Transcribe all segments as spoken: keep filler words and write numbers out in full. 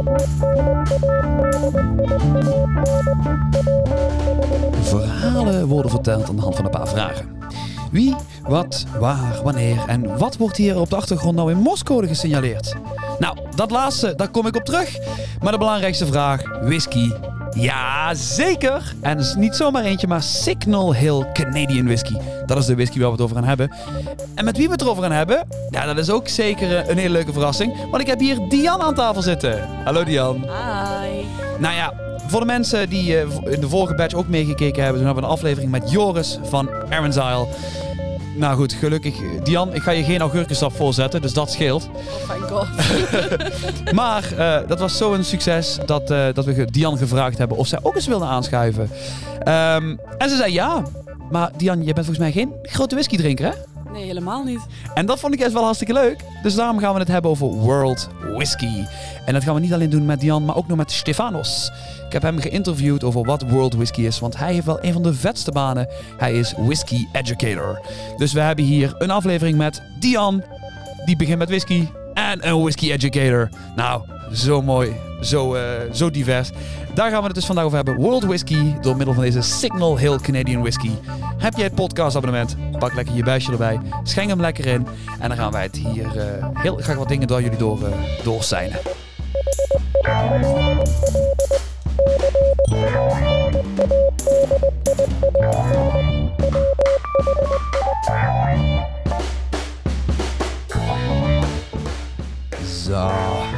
Verhalen worden verteld aan de hand van een paar vragen. Wie, wat, waar, wanneer en wat wordt hier op de achtergrond nou in Morsecode gesignaleerd? Nou, dat laatste, daar kom ik op terug. Maar de belangrijkste vraag, whisky. Ja, zeker! En is niet zomaar eentje, maar Signal Hill Canadian Whisky. Dat is de whisky waar we het over gaan hebben. En met wie we het erover gaan hebben? Ja, dat is ook zeker een hele leuke verrassing. Want ik heb hier Dian aan tafel zitten. Hallo Dian. Hi. Nou ja, voor de mensen die uh, in de vorige batch ook meegekeken hebben, toen hebben we een aflevering met Joris van Aaron's Isle. Nou goed, gelukkig. Dian, ik ga je geen augurkensap voorzetten, dus dat scheelt. Oh my god. Maar uh, dat was zo'n succes dat, uh, dat we Dian gevraagd hebben of zij ook eens wilde aanschuiven. Um, en ze zei ja. Maar Dian, je bent volgens mij geen grote whiskydrinker, hè? Nee, helemaal niet. En dat vond ik echt wel hartstikke leuk. Dus daarom gaan we het hebben over World Whisky. En dat gaan we niet alleen doen met Dian, maar ook nog met Stefanos. Ik heb hem geïnterviewd over wat World Whisky is, want hij heeft wel een van de vetste banen. Hij is whisky educator. Dus we hebben hier een aflevering met Dian, die begint met whisky, en een whisky educator. Nou, zo mooi, zo, uh, zo divers. Daar gaan we het dus vandaag over hebben. World Whisky, door middel van deze Signal Hill Canadian Whisky. Heb jij het podcastabonnement? Pak lekker je buisje erbij, schenk hem lekker in. En dan gaan wij het hier uh, heel graag wat dingen door jullie door, uh, doorsijnen. Zo.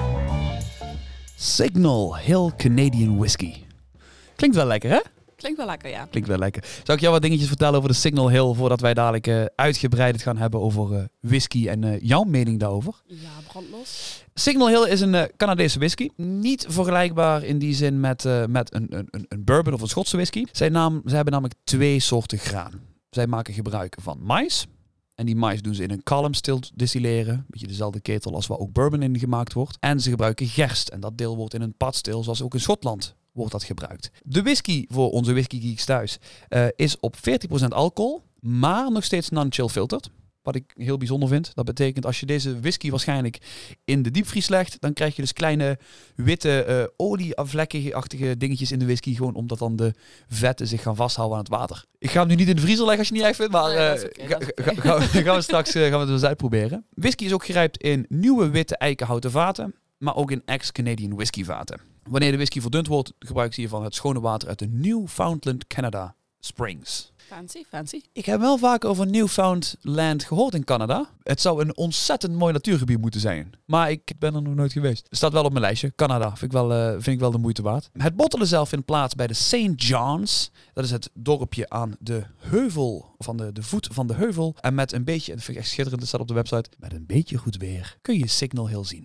Signal Hill Canadian Whisky. Klinkt wel lekker, hè? Klinkt wel lekker, ja. Klinkt wel lekker. Zou ik jou wat dingetjes vertellen over de Signal Hill, voordat wij dadelijk uh, uitgebreid het gaan hebben over uh, whisky en uh, jouw mening daarover? Ja, brandlos. Signal Hill is een uh, Canadese whisky. Niet vergelijkbaar in die zin met, uh, met een, een, een bourbon of een Schotse whisky. Zij, naam, zij hebben namelijk twee soorten graan. Zij maken gebruik van mais. En die mais doen ze in een column still distilleren. Een beetje dezelfde ketel als waar ook bourbon in gemaakt wordt. En ze gebruiken gerst. En dat deel wordt in een pot still, zoals ook in Schotland wordt dat gebruikt. De whisky voor onze whisky geeks thuis uh, is op veertien procent alcohol, maar nog steeds non-chill filtered. Wat ik heel bijzonder vind. Dat betekent als je deze whisky waarschijnlijk in de diepvries legt, dan krijg je dus kleine witte uh, olie-vlekkige-achtige dingetjes in de whisky. Gewoon omdat dan de vetten zich gaan vasthouden aan het water. Ik ga hem nu niet in de vriezer leggen als je het niet echt vindt, maar uh, nee, okay, ga, ga, ga, gaan we straks uh, gaan we het eens uitproberen. Whisky is ook gerijpt in nieuwe witte eikenhouten vaten, maar ook in ex-Canadian whisky vaten. Wanneer de whisky verdund wordt, gebruiken ze hiervan het schone water uit de Newfoundland Canada Springs. Fancy, fancy. Ik heb wel vaak over Newfoundland gehoord in Canada. Het zou een ontzettend mooi natuurgebied moeten zijn. Maar ik ben er nog nooit geweest. Het staat wel op mijn lijstje. Canada vind ik wel, uh, vind ik wel de moeite waard. Het bottelen zelf vindt plaats bij de Saint John's. Dat is het dorpje aan de heuvel, van de, de voet van de heuvel. En met een beetje, en dat vind ik echt schitterend, dat staat op de website. Met een beetje goed weer kun je Signal Hill zien.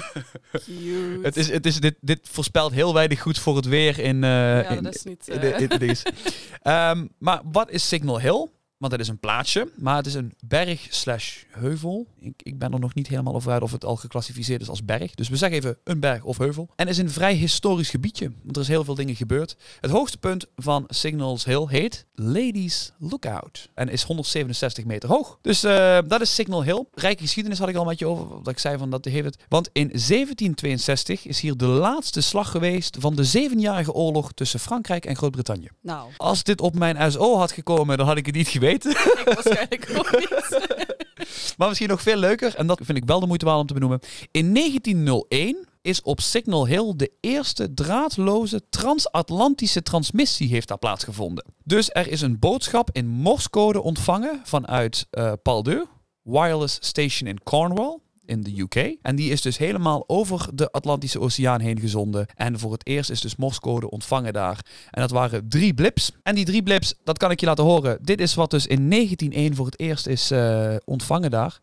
Cute. het is, het is, dit, dit voorspelt heel weinig goed voor het weer in... Uh, ja, in, dat is niet... Uh... in, in, in, in um, maar wat is Signal Hill? Want het is een plaatsje, maar het is een berg slash heuvel. Ik, ik ben er nog niet helemaal over uit of het al geclassificeerd is als berg. Dus we zeggen even een berg of heuvel. En het is een vrij historisch gebiedje, want er is heel veel dingen gebeurd. Het hoogste punt van Signal Hill heet Ladies Lookout. En is honderdzevenenzestig meter hoog. Dus uh, dat is Signal Hill. Rijke geschiedenis had ik al met je over, dat ik zei van dat heeft het. Want in zeventien tweeënzestig is hier de laatste slag geweest van de zevenjarige oorlog tussen Frankrijk en Groot-Brittannië. Nou. Als dit op mijn S O had gekomen, dan had ik het niet geweten. Ik waarschijnlijk ook niet. Maar misschien nog veel leuker, en dat vind ik wel de moeite waard om te benoemen. In negentien nul één is op Signal Hill de eerste draadloze transatlantische transmissie heeft daar plaatsgevonden. Dus er is een boodschap in Morsecode ontvangen vanuit uh, Paldeu, Wireless Station in Cornwall, in de U K. En die is dus helemaal over de Atlantische Oceaan heen gezonden. En voor het eerst is dus Morsecode ontvangen daar. En dat waren drie blips. En die drie blips, dat kan ik je laten horen. Dit is wat dus in negentien nul één voor het eerst is uh, ontvangen daar.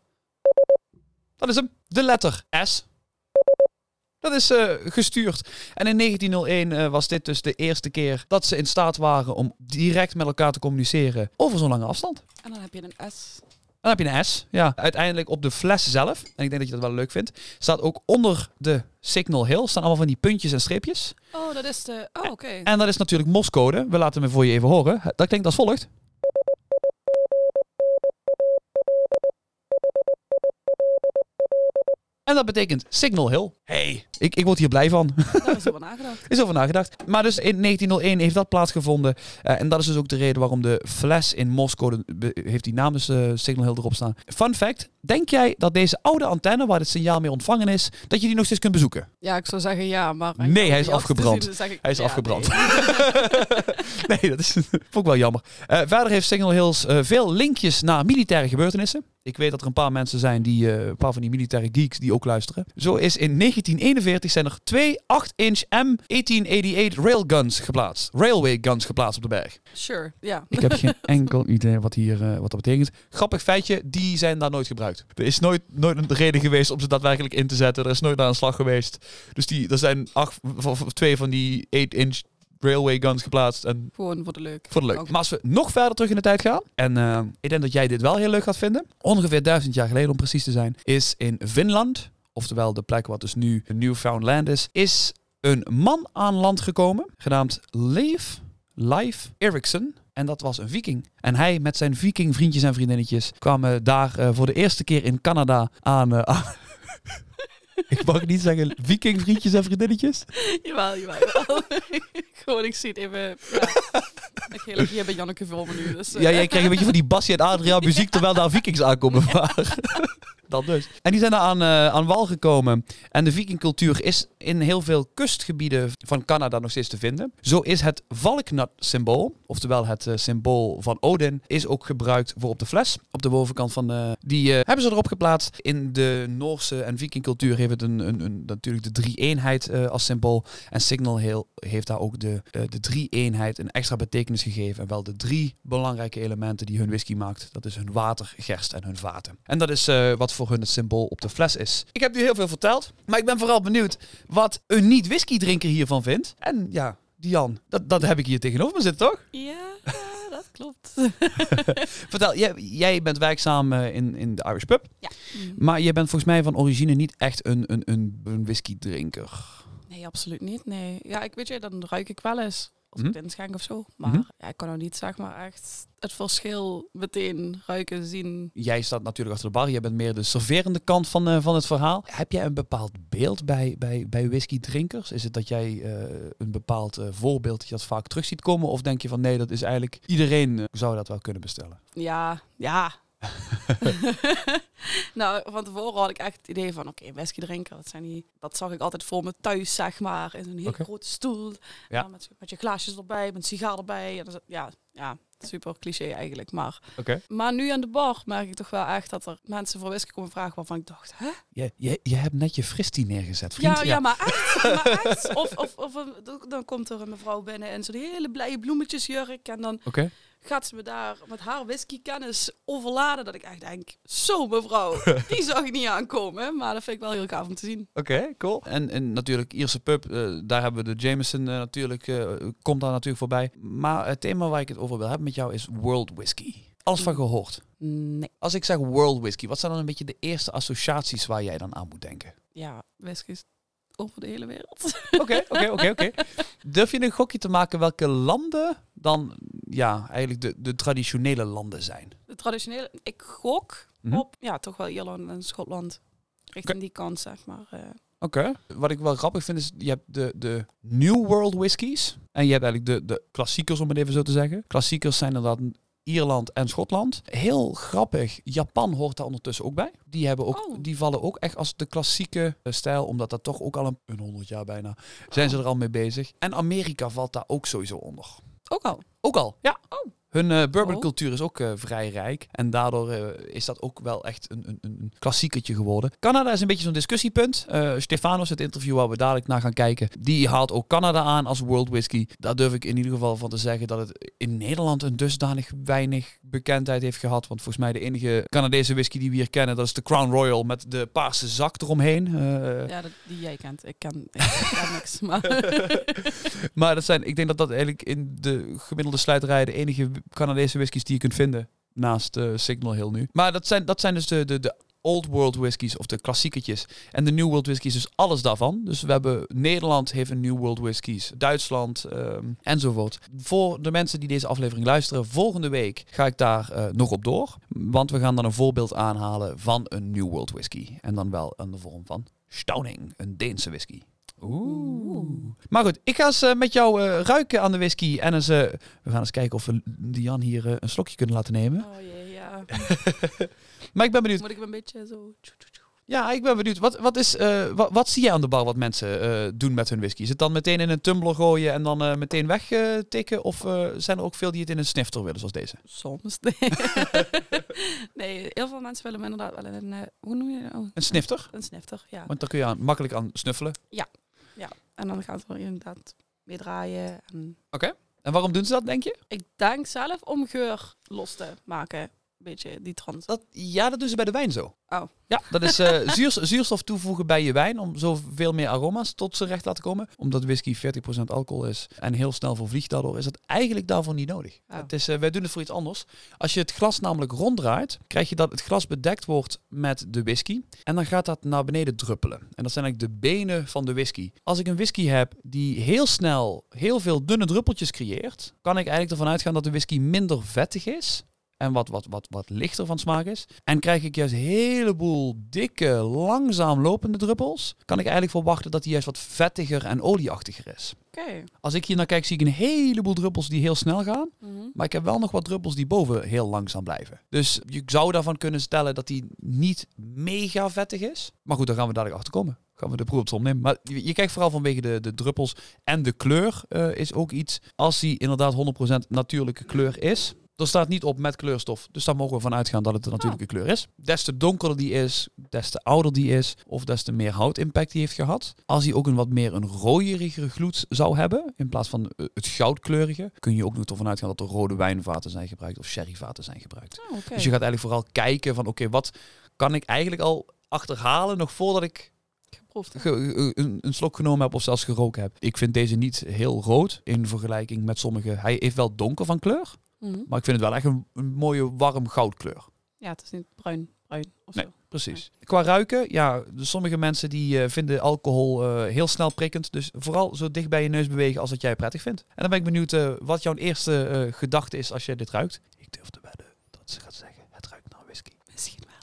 Dat is hem. De letter S. Dat is uh, gestuurd. En in negentien nul één uh, was dit dus de eerste keer dat ze in staat waren om direct met elkaar te communiceren over zo'n lange afstand. En dan heb je een S. Dan heb je een S. Ja, uiteindelijk op de fles zelf, en ik denk dat je dat wel leuk vindt, staat ook onder de Signal Hill, staan allemaal van die puntjes en streepjes. Oh, dat is de... Oh, oké. Okay. En dat is natuurlijk Morsecode. We laten hem voor je even horen. Dat klinkt als volgt. En dat betekent Signal Hill. Hey, ik, ik word hier blij van. Daar is over nagedacht. Is over nagedacht. Maar dus in negentienhonderdéén heeft dat plaatsgevonden. Uh, en dat is dus ook de reden waarom de fles in Morse-code be- heeft die naam dus uh, Signal Hill erop staan. Fun fact. Denk jij dat deze oude antenne waar het signaal mee ontvangen is, dat je die nog steeds kunt bezoeken? Ja, ik zou zeggen ja, maar... Nee, hij is die af te afgebrand. zien, dan zeg ik, Hij is ja, afgebrand. nee. Nee, dat is vond ik wel jammer. Uh, verder heeft Signal Hills uh, veel linkjes naar militaire gebeurtenissen. Ik weet dat er een paar mensen zijn, die, uh, een paar van die militaire geeks die ook luisteren. Zo is in negentien eenenveertig zijn er twee acht inch M achttien achtennegentig railguns geplaatst. Railway guns geplaatst op de berg. Sure, ja. Ik heb geen enkel idee wat, hier, uh, wat dat betekent. Grappig feitje, die zijn daar nooit gebruikt. Er is nooit, nooit een reden geweest om ze daadwerkelijk in te zetten. Er is nooit naar een slag geweest. Dus die, er zijn acht, of, of twee van die acht inch railway guns geplaatst. En Gewoon voor de leuk. voor de leuk. Ook. Maar als we nog verder terug in de tijd gaan. En uh, ik denk dat jij dit wel heel leuk gaat vinden. Ongeveer duizend jaar geleden om precies te zijn. Is in Finland, oftewel de plek wat dus nu Newfoundland is. Is een man aan land gekomen. Genaamd Leif, Leif Erikson. En dat was een viking. En hij met zijn viking vriendjes en vriendinnetjes kwamen daar uh, voor de eerste keer in Canada aan... Uh, aan ik mag niet zeggen viking vriendjes en vriendinnetjes. Jawel, jawel, jawel. Gewoon, ik zie het even... Ja. Ik heel hier bij Janneke Vulmen nu. Dus, uh. Ja, jij krijgt een beetje van die Bassie en Adriaan muziek terwijl daar vikings aankomen. Maar dat dus. En die zijn daar aan, uh, aan wal gekomen. En de vikingcultuur is in heel veel kustgebieden van Canada nog steeds te vinden. Zo is het valknut-symbool, oftewel het uh, symbool van Odin, is ook gebruikt voor op de fles. Op de bovenkant van de... Die uh, hebben ze erop geplaatst. In de Noorse en vikingcultuur heeft het een, een, een, natuurlijk de drie-eenheid uh, als symbool. En Signal Hill heeft daar ook de, uh, de drie-eenheid een extra betekenis gegeven. En wel de drie belangrijke elementen die hun whisky maakt. Dat is hun water, gerst en hun vaten. En dat is uh, wat voor hun het symbool op de fles is. Ik heb nu heel veel verteld, maar ik ben vooral benieuwd wat een niet-whisky-drinker hiervan vindt. En ja, Dian, dat, dat heb ik hier tegenover me zitten, toch? Ja, ja, dat klopt. Vertel, jij, jij bent werkzaam uh, in, in de Irish Pub. Ja. Mm. Maar je bent volgens mij van origine niet echt een, een, een, een whisky-drinker. Nee, absoluut niet. Nee. Ja, ik weet je, dan ruik ik wel eens als Hm? ik het inschenk of zo. Maar Mm-hmm. ja, ik kan ook niet, zeg maar, echt het verschil meteen ruiken, zien. Jij staat natuurlijk achter de bar. Jij bent meer de serverende kant van, uh, van het verhaal. Heb jij een bepaald beeld bij, bij, bij whisky-drinkers? Is het dat jij uh, een bepaald uh, voorbeeld dat je dat vaak terug ziet komen? Of denk je van nee, dat is eigenlijk... Iedereen uh, zou dat wel kunnen bestellen. Ja, ja. Nou, van tevoren had ik echt het idee van, oké, okay, whisky drinken, dat zijn die, dat zag ik altijd voor me thuis, zeg maar, in zo'n heel Okay. grote stoel. Ja. Ja, met, met je glaasjes erbij, met een sigaar erbij. En dan, ja, ja, super cliché eigenlijk, maar... Oké. Maar nu aan de bar merk ik toch wel echt dat er mensen voor whisky komen vragen waarvan ik dacht, hè? Je, je, je hebt net je fristie neergezet, vriend. Ja, ja, maar echt. Maar echt. Of, of, of een- dan komt er een mevrouw binnen en zo'n hele blije bloemetjesjurk. En dan Oké. Okay. gaat ze me daar met haar whiskykennis overladen. Dat ik echt denk, zo mevrouw, die zag ik niet aankomen. Maar dat vind ik wel heel gaaf om te zien. Oké, okay, cool. En, en natuurlijk Ierse pub, uh, daar hebben we de Jameson uh, natuurlijk, uh, komt daar natuurlijk voorbij. Maar het thema waar ik het over wil hebben met jou is world whisky. Alles van gehoord? Nee. Als ik zeg world whisky, wat zijn dan een beetje de eerste associaties waar jij dan aan moet denken? Ja, whisky is over de hele wereld. Oké, oké, oké, oké. Durf je een gokje te maken welke landen dan ja, eigenlijk de, de traditionele landen zijn? De traditionele, ik gok Mm-hmm. op, ja, toch wel Ierland en Schotland. Richting Oké. die kant, zeg maar. Uh, Oké. Okay. Wat ik wel grappig vind is, je hebt de, de New World whiskies. En je hebt eigenlijk de, de klassiekers, om het even zo te zeggen. Klassiekers zijn inderdaad Ierland en Schotland. Heel grappig, Japan hoort daar ondertussen ook bij. Die, hebben ook, Oh. die vallen ook echt als de klassieke uh, stijl, omdat dat toch ook al een, een honderd jaar bijna, zijn ze er al mee bezig. En Amerika valt daar ook sowieso onder. ook al. Ook al, ja. Oh. Hun uh, bourboncultuur is ook uh, vrij rijk. En daardoor uh, is dat ook wel echt een, een, een klassiekertje geworden. Canada is een beetje zo'n discussiepunt. Uh, Stefanos, het interview waar we dadelijk naar gaan kijken, die haalt ook Canada aan als world whisky. Daar durf ik in ieder geval van te zeggen dat het in Nederland een dusdanig weinig bekendheid heeft gehad. Want volgens mij de enige Canadese whisky die we hier kennen, dat is de Crown Royal met de paarse zak eromheen. Uh, Ja, dat, die jij kent. Ik ken, ik ken niks. Maar maar dat zijn, ik denk dat dat eigenlijk in de gemiddelde sluiterij de enige Canadese whiskies die je kunt vinden. Naast uh, Signal Hill nu. Maar dat zijn, dat zijn dus de, de, de Old World whiskies of de klassiekertjes en de New World whiskies, dus alles daarvan. Dus we hebben Nederland heeft een New World whiskies, Duitsland um, enzovoort. Voor de mensen die deze aflevering luisteren, volgende week ga ik daar uh, nog op door. Want we gaan dan een voorbeeld aanhalen van een New World whisky. En dan wel in de vorm van Stauning, een Deense whisky. Oeh. Maar goed, ik ga eens uh, met jou uh, ruiken aan de whisky. En eens, uh, we gaan eens kijken of we Dian hier uh, een slokje kunnen laten nemen. Oh jee, ja. Maar ik ben benieuwd. Moet ik hem een beetje zo... Ja, ik ben benieuwd. Wat, wat, is, uh, wat, wat zie je aan de bar wat mensen uh, doen met hun whisky? Is het dan meteen in een tumbler gooien en dan uh, meteen wegtikken? Uh, of uh, zijn er ook veel die het in een snifter willen, zoals deze? Soms, nee. Nee, heel veel mensen willen hem inderdaad wel in een... Uh, hoe noem je dat? Oh, een snifter? Een snifter, ja. Want daar kun je aan, makkelijk aan snuffelen. Ja, ja. En dan gaat het er inderdaad mee draaien. En... Oké. Okay. En waarom doen ze dat, denk je? Ik denk zelf om geur los te maken. Beetje die trans. Dat, ja, dat doen ze bij de wijn zo. Oh. Ja, dat is uh, zuurs, zuurstof toevoegen bij je wijn om zoveel meer aroma's tot zijn recht te laten komen. Omdat whisky veertig procent alcohol is en heel snel vervliegt daardoor, is het eigenlijk daarvoor niet nodig. Oh. Het is, uh, wij doen het voor iets anders. Als je het glas namelijk ronddraait, krijg je dat het glas bedekt wordt met de whisky. En dan gaat dat naar beneden druppelen. En dat zijn eigenlijk de benen van de whisky. Als ik een whisky heb die heel snel heel veel dunne druppeltjes creëert, kan ik eigenlijk ervan uitgaan dat de whisky minder vettig is. En wat, wat, wat, wat lichter van smaak is. En krijg ik juist een heleboel dikke, langzaam lopende druppels. Kan ik eigenlijk verwachten dat die juist wat vettiger en olieachtiger is. Okay. Als ik hier naar kijk, zie ik een heleboel druppels die heel snel gaan. Mm-hmm. Maar ik heb wel nog wat druppels die boven heel langzaam blijven. Dus je zou daarvan kunnen stellen dat die niet mega vettig is. Maar goed, daar gaan we dadelijk achter komen. Gaan we de proef op som nemen. Maar je, je kijkt vooral vanwege de, de druppels. En de kleur uh, is ook iets. Als die inderdaad honderd procent natuurlijke kleur is. Er staat niet op met kleurstof, dus daar mogen we van uitgaan dat het een natuurlijke kleur is. Des te donkerder die is, des te ouder die is, of des te meer houtimpact die heeft gehad. Als hij ook een wat meer een rooierigere gloed zou hebben, in plaats van het goudkleurige, kun je ook nog ervan uitgaan dat er rode wijnvaten zijn gebruikt of sherryvaten zijn gebruikt. Oh, okay. Dus je gaat eigenlijk vooral kijken van oké, okay, wat kan ik eigenlijk al achterhalen nog voordat ik Ge, een, een slok genomen heb of zelfs geroken heb. Ik vind deze niet heel rood in vergelijking met sommige. Hij heeft wel donker van kleur. Mm-hmm. Maar ik vind het wel echt een, een mooie warm goudkleur. Ja, het is niet bruin, bruin of nee, zo. Precies. Nee. Qua ruiken, ja, sommige mensen die uh, vinden alcohol uh, heel snel prikkend. Dus vooral zo dicht bij je neus bewegen als dat jij prettig vindt. En dan ben ik benieuwd uh, wat jouw eerste uh, gedachte is als je dit ruikt. Ik durf te wedden dat ze gaat zeggen, het ruikt naar whisky. Misschien wel.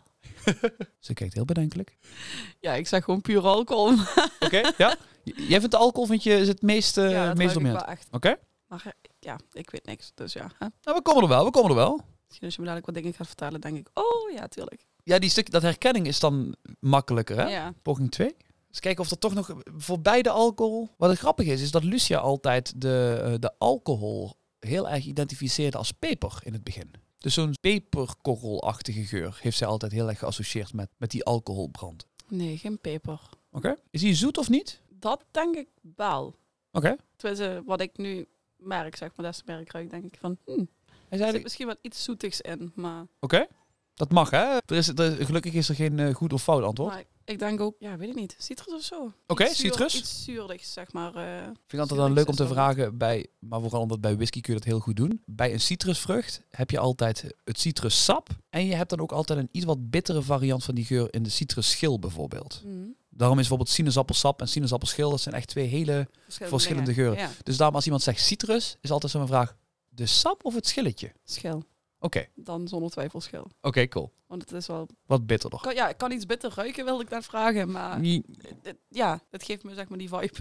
Ze kijkt heel bedenkelijk. Ja, ik zeg gewoon puur alcohol. Oké, okay, ja. Jij vindt de alcohol, vind je, is het meest uh, ja, dat meest dominant? Oké. Okay. Maar ja, ik weet niks, dus ja. Hè? Nou, we komen er wel, we komen er wel. Misschien als je me dadelijk wat dingen gaat vertellen, denk ik, oh ja, tuurlijk. Ja, die stuk, dat herkenning is dan makkelijker, hè? Ja. Poging twee. Dus kijken of er toch nog voor beide alcohol... Wat het grappig is, is dat Lucia altijd de, uh, de alcohol heel erg identificeerde als peper in het begin. Dus zo'n peperkorrelachtige geur heeft zij altijd heel erg geassocieerd met, met die alcoholbrand. Nee, geen peper. Oké. Okay. Is hij zoet of niet? Dat denk ik wel. Oké. Okay. Tenminste, wat ik nu merk, zeg maar, des te meer ik ruik, denk ik van... Hmm, er zit misschien wat iets zoetigs in, maar... Oké. Okay. Dat mag, hè? Er is, er, gelukkig is er geen uh, goed of fout antwoord. Maar ik denk ook, ja, weet ik niet, citrus of zo. Oké, okay, citrus? Iets zuurdigs, zeg maar. Uh, Vind ik altijd dan leuk om te vragen, bij, maar vooral omdat bij whisky kun je dat heel goed doen. Bij een citrusvrucht heb je altijd het citrussap. En je hebt dan ook altijd een iets wat bittere variant van die geur in de citrusschil bijvoorbeeld. Mm. Daarom is bijvoorbeeld sinaasappelsap en sinaasappelschil, dat zijn echt twee hele verschillende, verschillende geuren. Ja. Dus daarom als iemand zegt citrus, is altijd zo'n vraag, de sap of het schilletje? Schil. Oké. Okay. Dan zonder twijfel schil. Oké, okay, cool. Want het is wel... Wat bitterder. Kan, ja, ik kan iets bitter ruiken, wilde ik net vragen, maar... Nee. Het, ja, het geeft me zeg maar die vibe.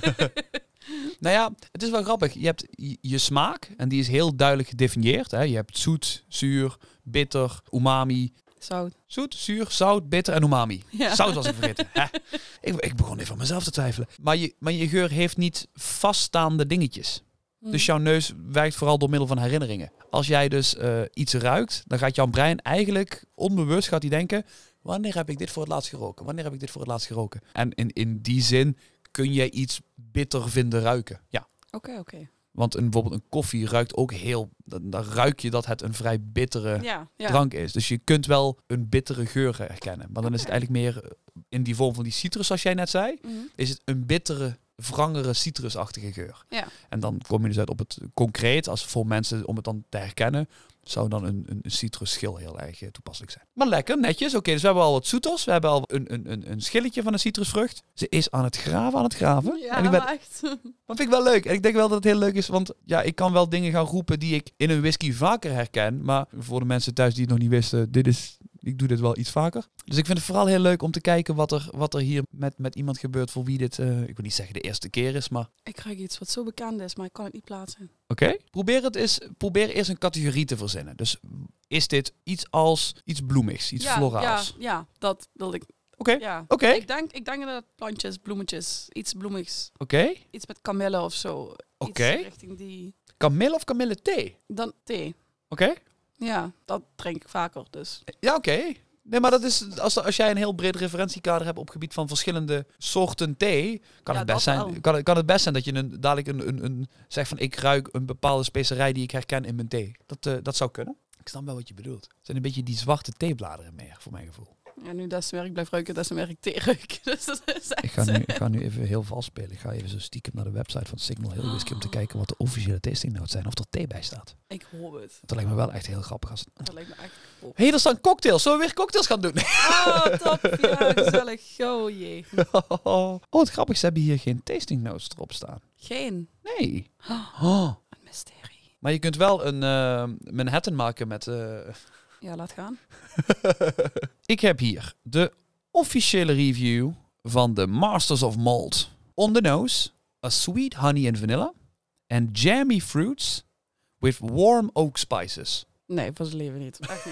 Nou ja, het is wel grappig. Je hebt je, je smaak, en die is heel duidelijk gedefinieerd. Hè? Je hebt zoet, zuur, bitter, umami... Zout. Zoet, zuur, zout, bitter en umami. Ja. Zout was ik vergeten. ik, ik begon even aan mezelf te twijfelen. Maar je, maar je geur heeft niet vaststaande dingetjes. Mm. Dus jouw neus werkt vooral door middel van herinneringen. Als jij dus uh, iets ruikt, dan gaat jouw brein eigenlijk onbewust gaat hij denken... Wanneer heb ik dit voor het laatst geroken? Wanneer heb ik dit voor het laatst geroken? En in, in die zin kun jij iets bitter vinden ruiken. Ja. Oké, okay, oké. Okay. Want een, bijvoorbeeld een koffie ruikt ook heel... Dan, dan ruik je dat het een vrij bittere ja, ja. drank is. Dus je kunt wel een bittere geur herkennen. Maar dan okay. is het eigenlijk meer in die vorm van die citrus, zoals jij net zei. Mm-hmm. Is het een bittere wrangere citrusachtige geur. Ja. En dan kom je dus uit op het concreet, als voor mensen om het dan te herkennen, zou dan een, een, een citrusschil heel erg uh, toepasselijk zijn. Maar lekker, netjes. Oké, okay, dus we hebben al wat zoeters. We hebben al een, een, een, een schilletje van een citrusvrucht. Ze is aan het graven, aan het graven. Ja, en ik ben, maar echt. dat vind ik wel leuk. En ik denk wel dat het heel leuk is, want ja, ik kan wel dingen gaan roepen die ik in een whisky vaker herken. Maar voor de mensen thuis die het nog niet wisten, dit is, ik doe dit wel iets vaker. Dus ik vind het vooral heel leuk om te kijken wat er, wat er hier met, met iemand gebeurt voor wie dit, uh, ik wil niet zeggen de eerste keer is, maar... Ik krijg iets wat zo bekend is, maar ik kan het niet plaatsen. Oké. Okay. Probeer het eens, probeer eerst een categorie te verzinnen. Dus is dit iets als iets bloemigs, iets ja, floraals? Ja, ja, dat wil ik. Oké. Okay. Ja. Okay. Ik denk, ik denk dat het plantjes, bloemetjes, iets bloemigs. Oké. Okay. Iets met kamille of zo. Oké. Okay. Richting die. Kamille of kamille thee? Dan thee. Oké. Okay. Ja, dat drink ik vaker dus. Ja, oké. Okay. Nee, maar dat is, als, als jij een heel breed referentiekader hebt op het gebied van verschillende soorten thee, kan, ja, het, best zijn, kan, kan het best zijn dat je een, dadelijk een, een, een zegt van ik ruik een bepaalde specerij die ik herken in mijn thee. Dat, uh, dat zou kunnen. Ik snap wel wat je bedoelt. Het zijn een beetje die zwarte theebladeren meer, voor mijn gevoel. Ja, nu des te meer ik blijf ruiken, des te meer ik thee ruik. Dus dat is echt... ik, ga nu, ik ga nu even heel vals spelen. Ik ga even zo stiekem naar de website van Signal Hill Whisky om te kijken wat de officiële tasting notes zijn. Of er thee bij staat. Ik hoop het. Dat lijkt me wel echt heel grappig. Als... Dat lijkt me echt Hé, hey, er staan cocktails. Zullen we weer cocktails gaan doen? Oh, top. Ja, gezellig. Oh jee. Oh, wat grappig. Ze hebben hier geen tasting notes erop staan. Geen? Nee. Oh, een mysterie. Maar je kunt wel een uh, Manhattan maken met... Uh... Ja, laat gaan. Ik heb hier de officiële review van de Masters of Malt. On the nose, a sweet honey and vanilla and jammy fruits with warm oak spices. Nee, voor zijn leven niet. Echt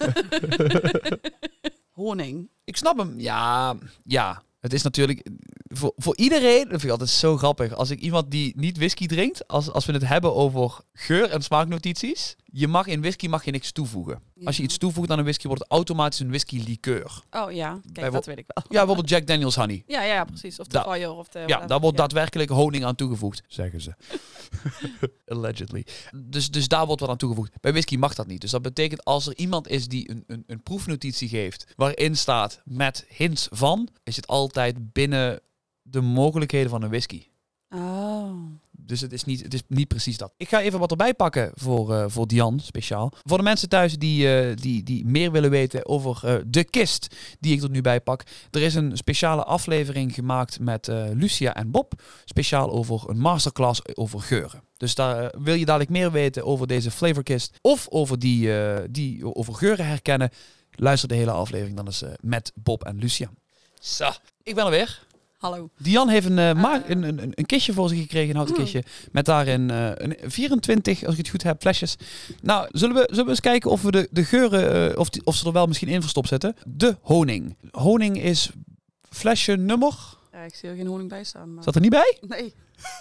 niet. Honing. Ik snap hem. Ja, ja. Het is natuurlijk... Voor, voor iedereen... Dat vind ik altijd zo grappig. Als ik iemand die niet whisky drinkt... Als, als we het hebben over geur- en smaaknotities... Je mag in whisky mag je niks toevoegen. Ja. Als je iets toevoegt aan een whisky... wordt het automatisch een whisky liqueur. Oh ja, kijk, dat weet ik wel. Ja, bijvoorbeeld Jack Daniel's Honey. Ja, ja, precies. Of de da- fire of de... Ja, daar wordt ja. daadwerkelijk honing aan toegevoegd. Zeggen ze. Allegedly. Dus, dus daar wordt wat aan toegevoegd. Bij whisky mag dat niet. Dus dat betekent als er iemand is die een, een, een proefnotitie geeft... waarin staat met hints van... is het altijd binnen de mogelijkheden van een whisky. Oh. Dus het is, niet, het is niet precies dat. Ik ga even wat erbij pakken voor, uh, voor Dian, speciaal. Voor de mensen thuis die, uh, die, die meer willen weten over uh, de kist die ik er nu bij pak. Er is een speciale aflevering gemaakt met uh, Lucia en Bob. Speciaal over een masterclass over geuren. Dus daar uh, wil je dadelijk meer weten over deze flavorkist. Of over, die, uh, die, over geuren herkennen. Luister de hele aflevering dan eens uh, met Bob en Lucia. Zo, ik ben er weer. Hallo. Dian heeft een, uh, ma- uh, een, een, een kistje voor zich gekregen, een houten kistje. Met daarin uh, een vierentwintig, als ik het goed heb, flesjes. Nou, zullen we, zullen we eens kijken of we de, de geuren, uh, of, die, of ze er wel misschien in verstopt zetten. De honing. Honing is flesje nummer... Ja, ik zie er geen honing bij staan. Maar... Zat er niet bij? Nee.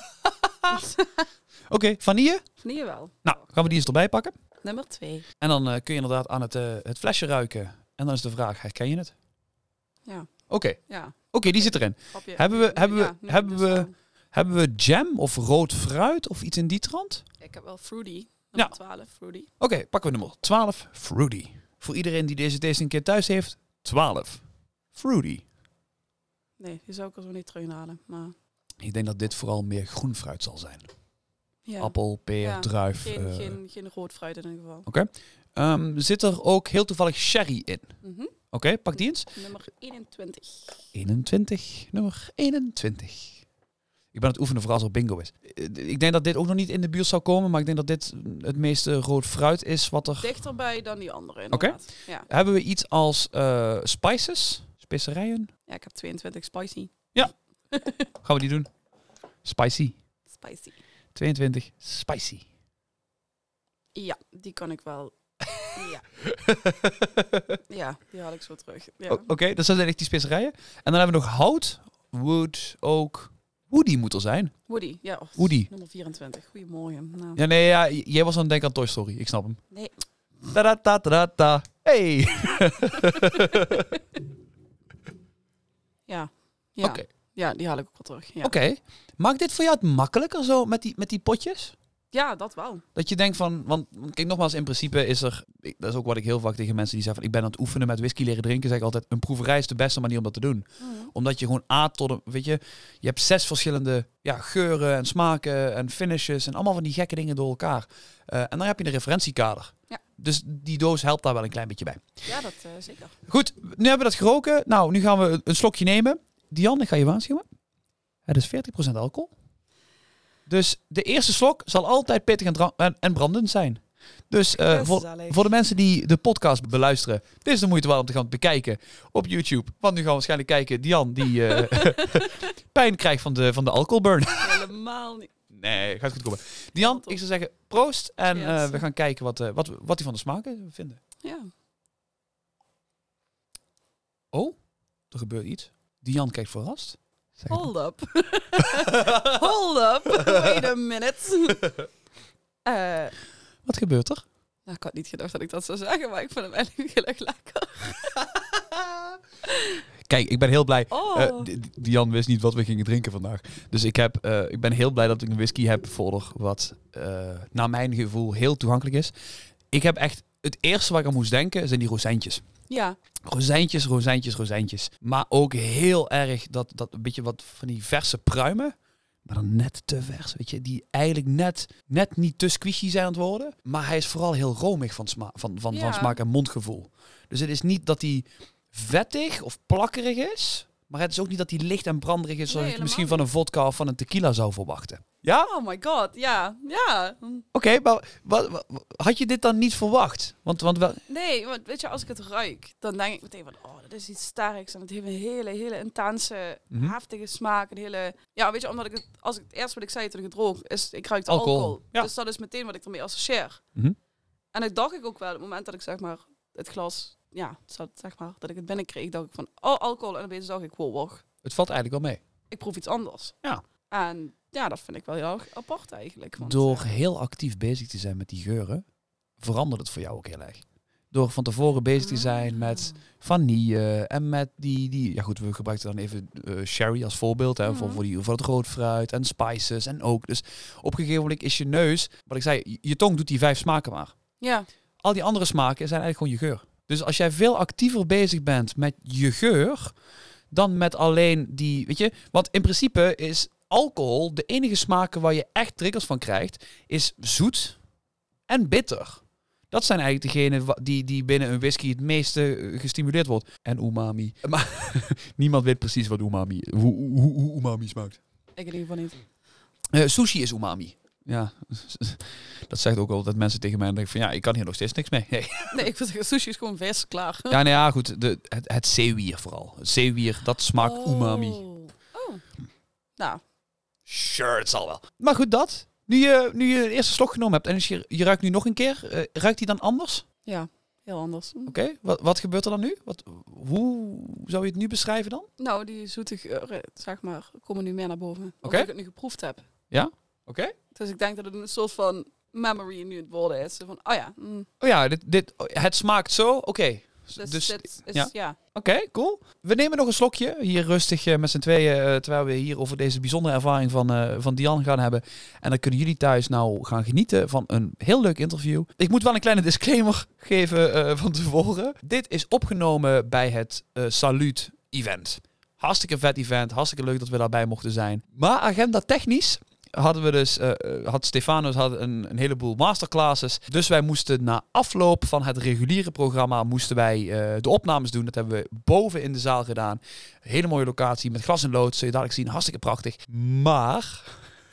Oké, okay, vanille? Vanille wel. Nou, gaan we die eens erbij pakken. Nummer twee. En dan uh, kun je inderdaad aan het, uh, het flesje ruiken. En dan is de vraag, herken je het? Ja. Oké. Okay. Ja. Oké, okay, die zit erin. Grapje. Hebben we, hebben we, ja, nee, hebben dus we, wel. hebben we jam of rood fruit of iets in die trant? Ik heb wel fruity. Ja. Nummer twaalf, fruity. Oké, okay, pakken we nummer twaalf, fruity. Voor iedereen die deze tasting een keer thuis heeft, twaalf, fruity. Nee, die zou ik er zo niet terughalen. Maar... Ik denk dat dit vooral meer groen fruit zal zijn. Ja. Appel, peer, Ja, druif. Geen, uh, geen, geen rood fruit in ieder geval. Oké. Okay. Um, zit er ook heel toevallig sherry in? Mm-hmm. Oké, okay, pak die eens. Nummer eenentwintig. eenentwintig, nummer eenentwintig. Ik ben aan het oefenen voor als er bingo is. Ik denk dat dit ook nog niet in de buurt zou komen, maar ik denk dat dit het meeste rood fruit is wat er... Dichterbij dan die andere Oké. inderdaad. Okay. Ja. Hebben we iets als uh, spices? Specerijen? Ja, ik heb tweeëntwintig spicy. Ja. Gaan we die doen? Spicy. Spicy. tweeëntwintig, spicy. Ja, die kan ik wel... Ja. Ja, die haal ik zo terug. Ja. Oké, okay, dat zijn echt die specerijen. En dan hebben we nog hout, wood, oak. Woody moet er zijn. Woody, ja. Of Woody. Nummer vierentwintig. Goedemorgen. Nou. Ja, nee, ja, jij was aan het denken aan Toy Story. Ik snap hem. Nee. Da da da da da. Hey. Ja. Ja. Oké. Ja, die haal ik ook wel terug. Ja. Oké. Okay. Maakt dit voor jou het makkelijker zo met die, met die potjes? Ja, dat wel. Dat je denkt van, want kijk nogmaals, in principe is er, ik, dat is ook wat ik heel vaak tegen mensen die zeggen van, ik ben aan het oefenen met whisky leren drinken, zeg ik altijd, een proeverij is de beste manier om dat te doen. Mm. Omdat je gewoon A tot een, weet je, je hebt zes verschillende ja, geuren en smaken en finishes en allemaal van die gekke dingen door elkaar. Uh, en dan heb je een referentiekader. Ja. Dus die doos helpt daar wel een klein beetje bij. Ja, dat uh, zeker. Goed, nu hebben we dat geroken. Nou, nu gaan we een slokje nemen. Dian, ik ga je waarschuwen. Het is veertig procent alcohol. Dus de eerste slok zal altijd pittig en, dra- en, en brandend zijn. Dus uh, voor, voor de mensen die de podcast beluisteren, dit is de moeite waard om te gaan bekijken op YouTube. Want nu gaan we waarschijnlijk kijken, Dian die uh, pijn krijgt van de, van de alcoholburn. Helemaal niet. Nee, gaat goed komen. Dian, ik zou zeggen proost. En yes. uh, we gaan kijken wat, uh, wat, wat die van de smaken vinden. Ja. Oh, er gebeurt iets. Dian kijkt verrast. Zeg Hold up. Hold up. Wait a minute. uh, wat gebeurt er? Nou, ik had niet gedacht dat ik dat zou zeggen, maar ik vind hem eigenlijk heel erg lekker. Kijk, ik ben heel blij. Oh. Uh, Dian wist niet wat we gingen drinken vandaag. Dus ik, heb, uh, ik ben heel blij dat ik een whisky heb voor wat uh, naar mijn gevoel heel toegankelijk is. Ik heb echt, het eerste waar ik aan moest denken zijn die rozijntjes. Ja. Rozijntjes, rozijntjes, rozijntjes. Maar ook heel erg dat, dat een beetje wat van die verse pruimen. Maar dan net te vers, weet je. Die eigenlijk net, net niet te squishy zijn aan het worden. Maar hij is vooral heel romig van, sma- van, van, ja. van smaak en mondgevoel. Dus het is niet dat hij vettig of plakkerig is. Maar het is ook niet dat hij licht en branderig is. Zoals nee, je misschien van een vodka of van een tequila zou verwachten. Ja? Oh my god, ja. ja. Oké, okay, maar wat, wat, had je dit dan niet verwacht? Want, want wel... Nee, want weet je, als ik het ruik, dan denk ik meteen van, oh, dat is iets sterks. En het heeft een hele, hele intense, mm-hmm. heftige smaak. Een hele, ja, weet je, omdat ik het, als ik het eerst wat ik zei toen ik het rook, is, ik ruik de alcohol. alcohol. Ja. Dus dat is meteen wat ik ermee associeer. Mm-hmm. En dat dacht ik ook wel, op het moment dat ik zeg maar het glas, ja, zeg maar, dat ik het binnenkreeg, dacht ik van, oh, alcohol. En opeens dacht ik, wow, wacht. Het valt eigenlijk wel mee. Ik proef iets anders. Ja. En ja, dat vind ik wel heel erg apart eigenlijk. Want, Door uh, heel actief bezig te zijn met die geuren, verandert het voor jou ook heel erg. Door van tevoren bezig te zijn met vanille en met die, die... Ja goed, we gebruikten dan even uh, sherry als voorbeeld. Hè, mm. voor, voor, die, voor het rood fruit en spices en ook. Dus op een gegeven moment is je neus... Wat ik zei, je tong doet die vijf smaken maar. Ja. Al die andere smaken zijn eigenlijk gewoon je geur. Dus als jij veel actiever bezig bent met je geur... dan met alleen die... Weet je, want in principe is... alcohol, de enige smaken waar je echt triggers van krijgt, is zoet en bitter. Dat zijn eigenlijk degenen die, die binnen een whisky het meeste gestimuleerd wordt. En umami. Maar niemand weet precies wat umami, hoe, hoe, hoe umami smaakt. Ik in ieder geval niet. Uh, sushi is umami. Ja, dat zegt ook altijd mensen tegen mij en denk ik van ja, ik kan hier nog steeds niks mee. Nee, nee ik vind sushi is gewoon vers klaar. Ja, nou ja, goed. De, het, het zeewier vooral. Het zeewier, dat smaakt oh. umami. Oh. Nou. Sure, het zal wel. Maar goed, dat. Nu je, nu je de eerste slok genomen hebt en dus je, je ruikt nu nog een keer, uh, ruikt die dan anders? Ja, heel anders. Oké, okay. wat, wat gebeurt er dan nu? Wat, hoe zou je het nu beschrijven dan? Nou, die zoete geuren, zeg maar, komen nu meer naar boven. Omdat okay. ik het nu geproefd heb. Ja? Oké. Okay. Dus ik denk dat het een soort van memory nu het worden is. Van, oh ja. Mm. Oh ja, dit, dit, het smaakt zo, oké. Okay. Dus, dus dit is, ja. ja. Oké, okay, cool. We nemen nog een slokje. Hier rustig uh, met z'n tweeën. Uh, terwijl we hier over deze bijzondere ervaring van, uh, van Dian gaan hebben. En dan kunnen jullie thuis nou gaan genieten van een heel leuk interview. Ik moet wel een kleine disclaimer geven uh, van tevoren. Dit is opgenomen bij het uh, Salute event. Hartstikke vet event. Hartstikke leuk dat we daarbij mochten zijn. Maar agenda technisch... hadden we dus, uh, had Stefanos had een, een heleboel masterclasses. Dus wij moesten na afloop van het reguliere programma, moesten wij uh, de opnames doen. Dat hebben we boven in de zaal gedaan. Een hele mooie locatie met glas en lood. Zul je dadelijk zien, hartstikke prachtig. Maar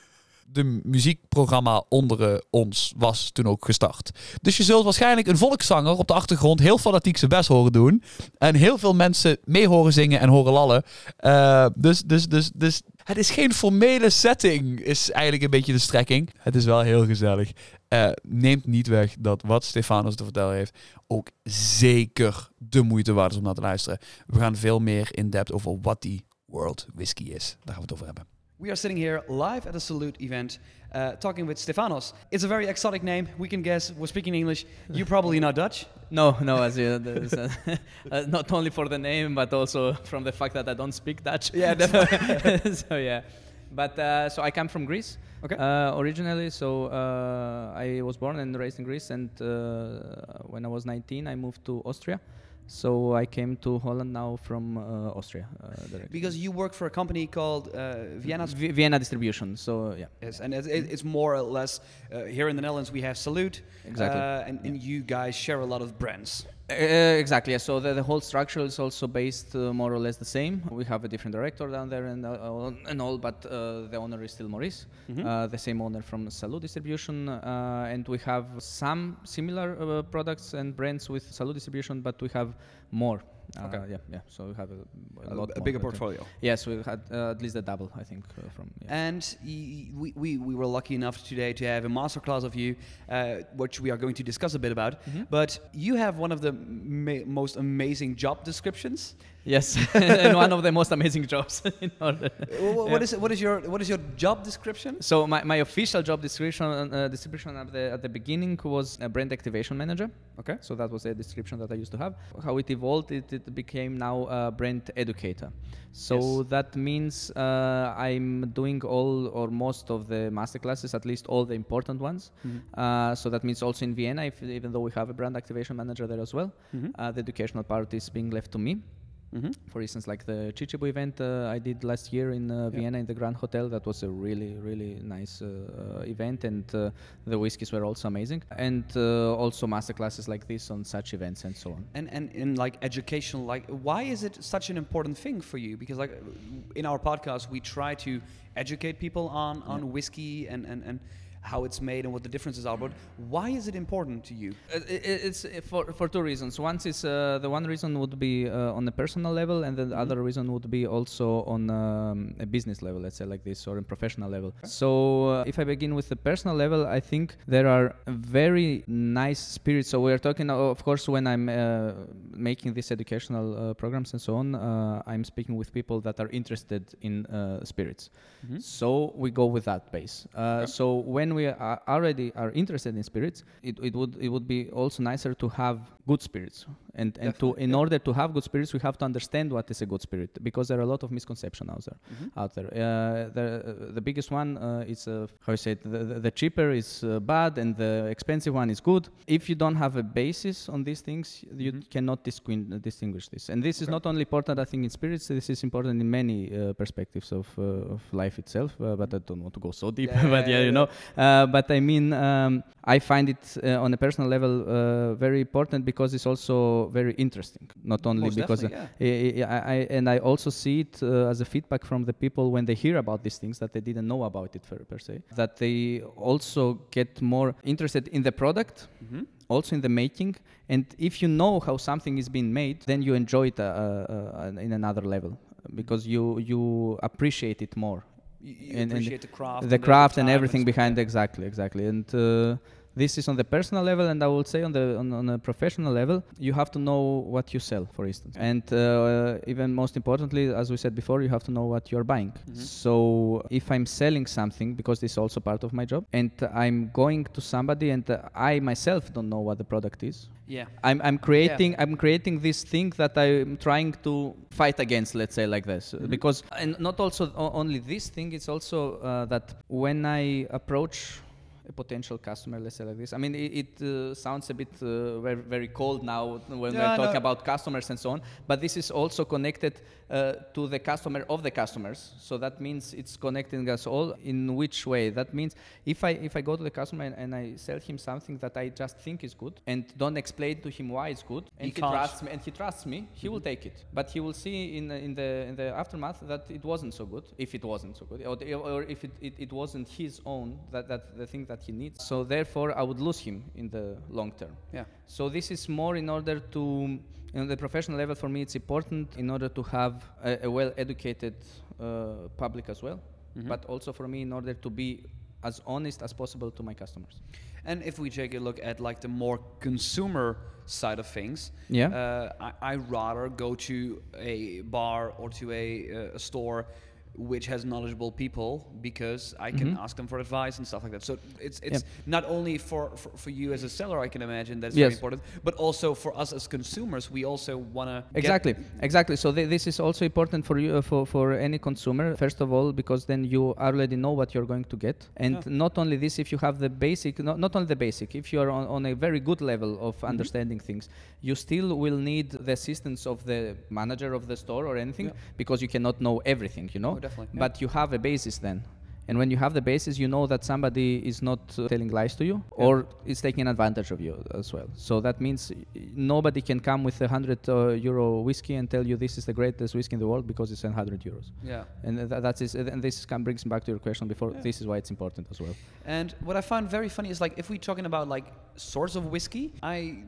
de muziekprogramma onder uh, ons was toen ook gestart. Dus je zult waarschijnlijk een volkszanger op de achtergrond heel fanatiek zijn best horen doen. En heel veel mensen mee horen zingen en horen lallen. Uh, dus, dus, dus, dus het is geen formele setting, is eigenlijk een beetje de strekking. Het is wel heel gezellig. Uh, neemt niet weg dat wat Stefanos te vertellen heeft ook zeker de moeite waard is om naar te luisteren. We gaan veel meer in depth over wat die World Whisky is. Daar gaan we het over hebben. We are sitting here live at a Salute event, uh, talking with Stefanos. It's a very exotic name. We can guess. We're speaking English. You're probably not Dutch. No, no, as you, uh, uh, not only for the name, but also from the fact that I don't speak Dutch. Yeah, definitely. So yeah, But uh, so I come from Greece. Okay. Uh, originally, so uh, I was born and raised in Greece, and uh, when I was nineteen, I moved to Austria. So I came to Holland now from uh, Austria. Uh, because you work for a company called uh, Vienna. V- Vienna Distribution. So yeah. Yes, and it's, it's more or less uh, here in the Netherlands we have Salute. Exactly. Uh, and, and you guys share a lot of brands. Uh, exactly. Yeah. So the, the whole structure is also based uh, more or less the same. We have a different director down there and uh, and all, but uh, the owner is still Maurice, mm-hmm. uh, the same owner from Salute Distribution, uh, and we have some similar uh, products and brands with Salute Distribution, but we have more. Uh, okay. Yeah, yeah. So we have a, a, a, lot a more bigger uh, portfolio. Yes, we had uh, at least a double, I think, uh, from. Yeah. And y- we, we we were lucky enough today to have a masterclass of you, uh, which we are going to discuss a bit about. Mm-hmm. But you have one of the ma- most amazing job descriptions. Yes, and one of the most amazing jobs. in order. What, what is what is your what is your job description? So my, my official job description uh, description at the at the beginning was a brand activation manager. Okay. So that was a description that I used to have. How it evolved, it, it became now a brand educator. So yes. That means uh, I'm doing all or most of the masterclasses, at least all the important ones. Mm-hmm. Uh, so that means also in Vienna, if, even though we have a brand activation manager there as well, mm-hmm. uh, the educational part is being left to me. Mm-hmm. For instance, like the Chichibu event uh, I did last year in uh, Vienna yeah. in the Grand Hotel. That was a really, really nice uh, uh, event, and uh, the whiskeys were also amazing. And uh, also masterclasses like this on such events and so on. And and in like education, like why is it such an important thing for you? Because like in our podcast, we try to educate people on on yeah. whiskey and and and. how it's made and what the differences are, but why is it important to you? Uh, it, it's for for two reasons. One is uh, the one reason would be uh, on a personal level, and the mm-hmm. other reason would be also on um, a business level, let's say like this, or a professional level. Okay. So uh, if I begin with the personal level, I think there are very nice spirits. So we are talking, of course, when I'm uh, making these educational uh, programs and so on, uh, I'm speaking with people that are interested in uh, spirits. Mm-hmm. So we go with that base. Uh, okay. So when we are already are interested in spirits, it, it would it would be also nicer to have good spirits, and and to in yeah. order to have good spirits, we have to understand what is a good spirit, because there are a lot of misconceptions out there. Mm-hmm. Out there, uh, the uh, the biggest one uh, is uh, how you say it, the, the, the cheaper is uh, bad and the expensive one is good. If you don't have a basis on these things, you mm-hmm. cannot disqu- distinguish this. And this okay. is not only important, I think, in spirits. This is important in many uh, perspectives of uh, of life itself. Uh, but I don't want to go so deep. Yeah, but yeah, yeah, you know. Uh, but I mean, um, I find it uh, on a personal level uh, very important because it's also very interesting. Not only Most because uh, yeah. I, I, I and I also see it uh, as a feedback from the people when they hear about these things that they didn't know about it per, per se. That they also get more interested in the product. Mm-hmm. Also in the making, and if you know how something is being made, then you enjoy it uh, uh, in another level, because you you appreciate it more. You, you and, appreciate and the craft, the and craft the and everything and behind. Yeah. Exactly, exactly, and. Uh, This is on the personal level, and I would say on the on, on a professional level, you have to know what you sell, for instance, and uh, even most importantly, as we said before, you have to know what you're buying. Mm-hmm. So if I'm selling something, because this is also part of my job, and I'm going to somebody, and uh, I myself don't know what the product is. Yeah, I'm I'm creating yeah. I'm creating this thing that I'm trying to fight against, let's say like this, mm-hmm. because and not also o- only this thing. It's also uh, that when I approach a potential customer, let's say like this. I mean, it, it uh, sounds a bit uh, very, very cold now when yeah, we're talking no. about customers and so on, but this is also connected uh, to the customer of the customers. So that means it's connecting us all. In which way? That means if I if I go to the customer and, and I sell him something that I just think is good and don't explain to him why it's good, and he, he trusts me, and he trusts me, he mm-hmm. will take it. But he will see in in the in the aftermath that it wasn't so good, if it wasn't so good, or, or if it, it, it wasn't his own, that, that the thing that he needs. So therefore I would lose him in the long term. Yeah. So this is more in order to, on the professional level, for me it's important in order to have a, a well-educated uh, public as well, mm-hmm. but also for me in order to be as honest as possible to my customers. And if we take a look at like the more consumer side of things, yeah, uh, I, I rather go to a bar or to a, uh, a store which has knowledgeable people, because I can Mm-hmm. ask them for advice and stuff like that. So it's it's Yeah. not only for, for, for you as a seller, I can imagine that's Yes. very important, but also for us as consumers. We also want to Exactly, exactly. So th- this is also important for you, uh, for for any consumer. First of all, because then you already know what you're going to get, and Yeah. not only this, if you have the basic, not, not only the basic, if you are on, on a very good level of Mm-hmm. understanding things, you still will need the assistance of the manager of the store or anything, Yeah. because you cannot know everything, you know. Oh, definitely, yeah. But you have a basis then. And when you have the basis, you know that somebody is not uh, telling lies to you or is taking advantage of you as well. So that means y- nobody can come with a hundred uh, euro whiskey and tell you this is the greatest whiskey in the world because it's a hundred euros. Yeah. And th- that is, and this kind of brings me back to your question before. Yeah. This is why it's important as well. And what I found very funny is, like, if we're talking about like sorts of whiskey, I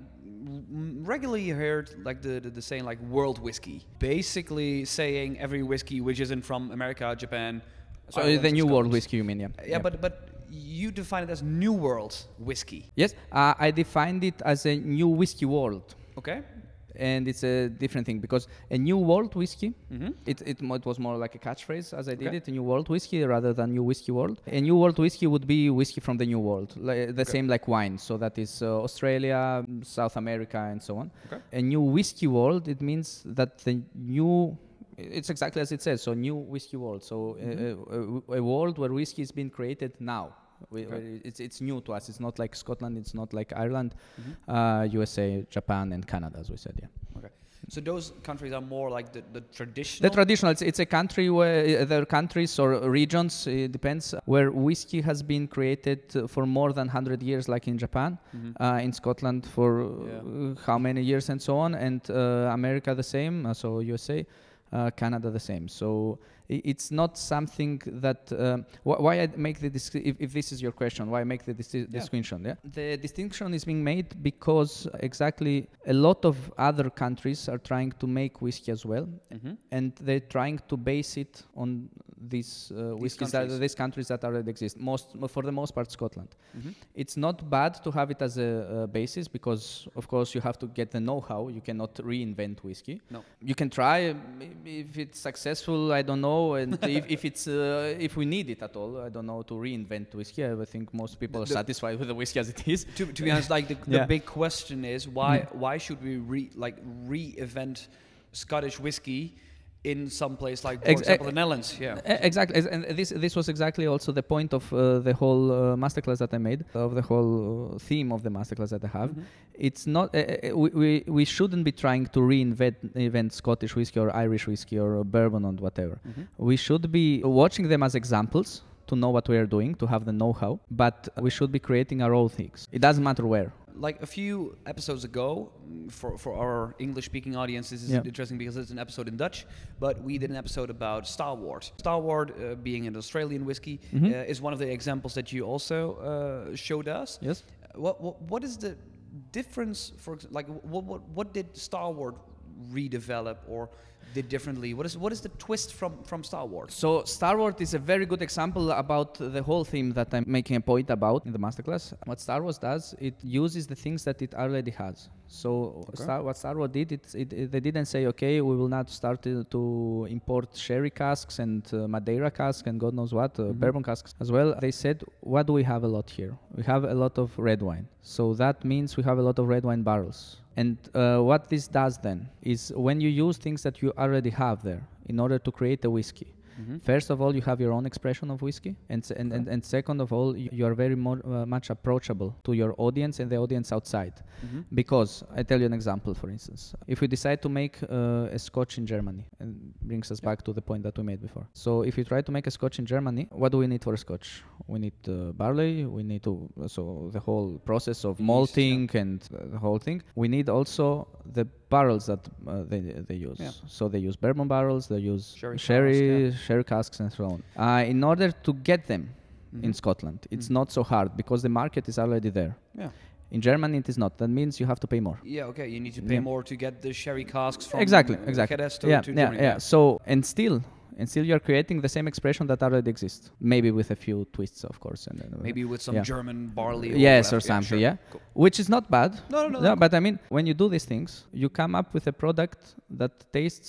m- regularly heard like the, the the saying like world whiskey, basically saying every whiskey which isn't from America, Japan. So Ireland, uh, the and new world Scotland. whiskey, you mean? Yeah. Yeah, but but you define it as new world whiskey. Yes, uh, I defined it as a new whiskey world. Okay. And it's a different thing because a new world whiskey, Mm-hmm. it, it, mo- it was more like a catchphrase as I did Okay. it, a new world whiskey rather than new whiskey world. A new world whiskey would be whiskey from the new world, li- the same like wine. So that is uh, Australia, mm, South America, and so on. Okay. A new whiskey world, it means that the new, it's exactly as it says, so new whiskey world. So Mm-hmm. uh, a, a world where whiskey is being created now. We, Okay. we- it's, it's new to us. It's not like Scotland, it's not like Ireland, Mhm. uh, U S A, Japan, and Canada, as we said, yeah. Okay. So those countries are more like the, the traditional. The traditional, it's, it's a country where uh, there are countries or regions, it depends, where whiskey has been created uh, for more than one hundred years, like in Japan, Mhm. uh, in Scotland for uh, Yeah. how many years and so on, and uh, America the same, uh, so U S A, uh, Canada the same. So i- it's not something that, um, wh- why I make the, dis- if, if this is your question, why I make the dis- distinction, yeah? The distinction is being made because exactly a lot of other countries are trying to make whiskey as well, Mhm. and they're trying to base it on these uh, whiskeys, that, countries. these countries that already exist. Most, for the most part, Scotland. Mhm. It's not bad to have it as a, a basis because, of course, you have to get the know-how. You cannot reinvent whiskey. No. You can try. Maybe if it's successful, I don't know, and if, if it's uh, if we need it at all, I don't know, to reinvent whiskey. I think most people are The- satisfied with the whiskey as it is. To, to be honest, like the, the Yeah. big question is why why should we re like re-event Scottish whiskey in some place like, for Ex- example, e- the Netherlands? Yeah. E- Exactly, As- and this this was exactly also the point of uh, the whole uh, masterclass that I made, of the whole uh, theme of the masterclass that I have. Mhm. It's not uh, uh, we, we we shouldn't be trying to reinvent invent Scottish whiskey or Irish whiskey or uh, bourbon or whatever. Mhm. We should be watching them as examples to know what we are doing, to have the know-how, but we should be creating our own things. It doesn't matter where. Like a few episodes ago, mm, for, for our English-speaking audience, this is Yeah. interesting because it's an episode in Dutch, but we did an episode about Starward. Starward, uh, being an Australian whiskey, Mhm. uh, is one of the examples that you also uh, showed us. Yes. Uh, What, what what is the difference? For ex- like, what what what did Starward redevelop or did differently? What is what is the twist from from Starward? So Starward is a very good example about the whole theme that I'm making a point about in the masterclass. What Star Wars does, it uses the things that it already has. So Star, what Star Wars did, it, it, it, they didn't say, okay, we will not start to, to import sherry casks and uh, Madeira casks and God knows what, uh, Mhm. bourbon casks as well. They said, what do we have a lot here? We have a lot of red wine. So that means we have a lot of red wine barrels. And uh, what this does then is when you use things that you already have there in order to create a whiskey, Mhm. first of all, you have your own expression of whiskey, and s- and, and, and second of all, you, you are very more, uh, much approachable to your audience and the audience outside. Mhm. Because I tell you an example, for instance, if we decide to make uh, a Scotch in Germany, and brings us back to the point that we made before. So if you try to make a Scotch in Germany, what do we need for a Scotch? We need uh, barley. We need to so the whole process of Yeast, malting and uh, the whole thing. We need also the barrels that uh, they they use. Yeah. So they use bourbon barrels. They use Sherry sherry, cask, sherry casks, and so on. Uh, in order to get them in Mhm. Scotland, it's Mhm. not so hard because the market is already there. Yeah. In Germany, it is not. That means you have to pay more. Yeah, okay. You need to pay Yeah. more to get the sherry casks from Exactly, uh, exactly. Jerez to, yeah, to yeah, Germany. yeah. So and still, and still, you are creating the same expression that already exists. Maybe with a few twists, of course. And uh, Maybe with some yeah. German barley. Or Yes, or whatever. something. sure. Yeah, Cool. which is not bad. No, no, no. Yeah, no. but I mean, when you do these things, you come up with a product that tastes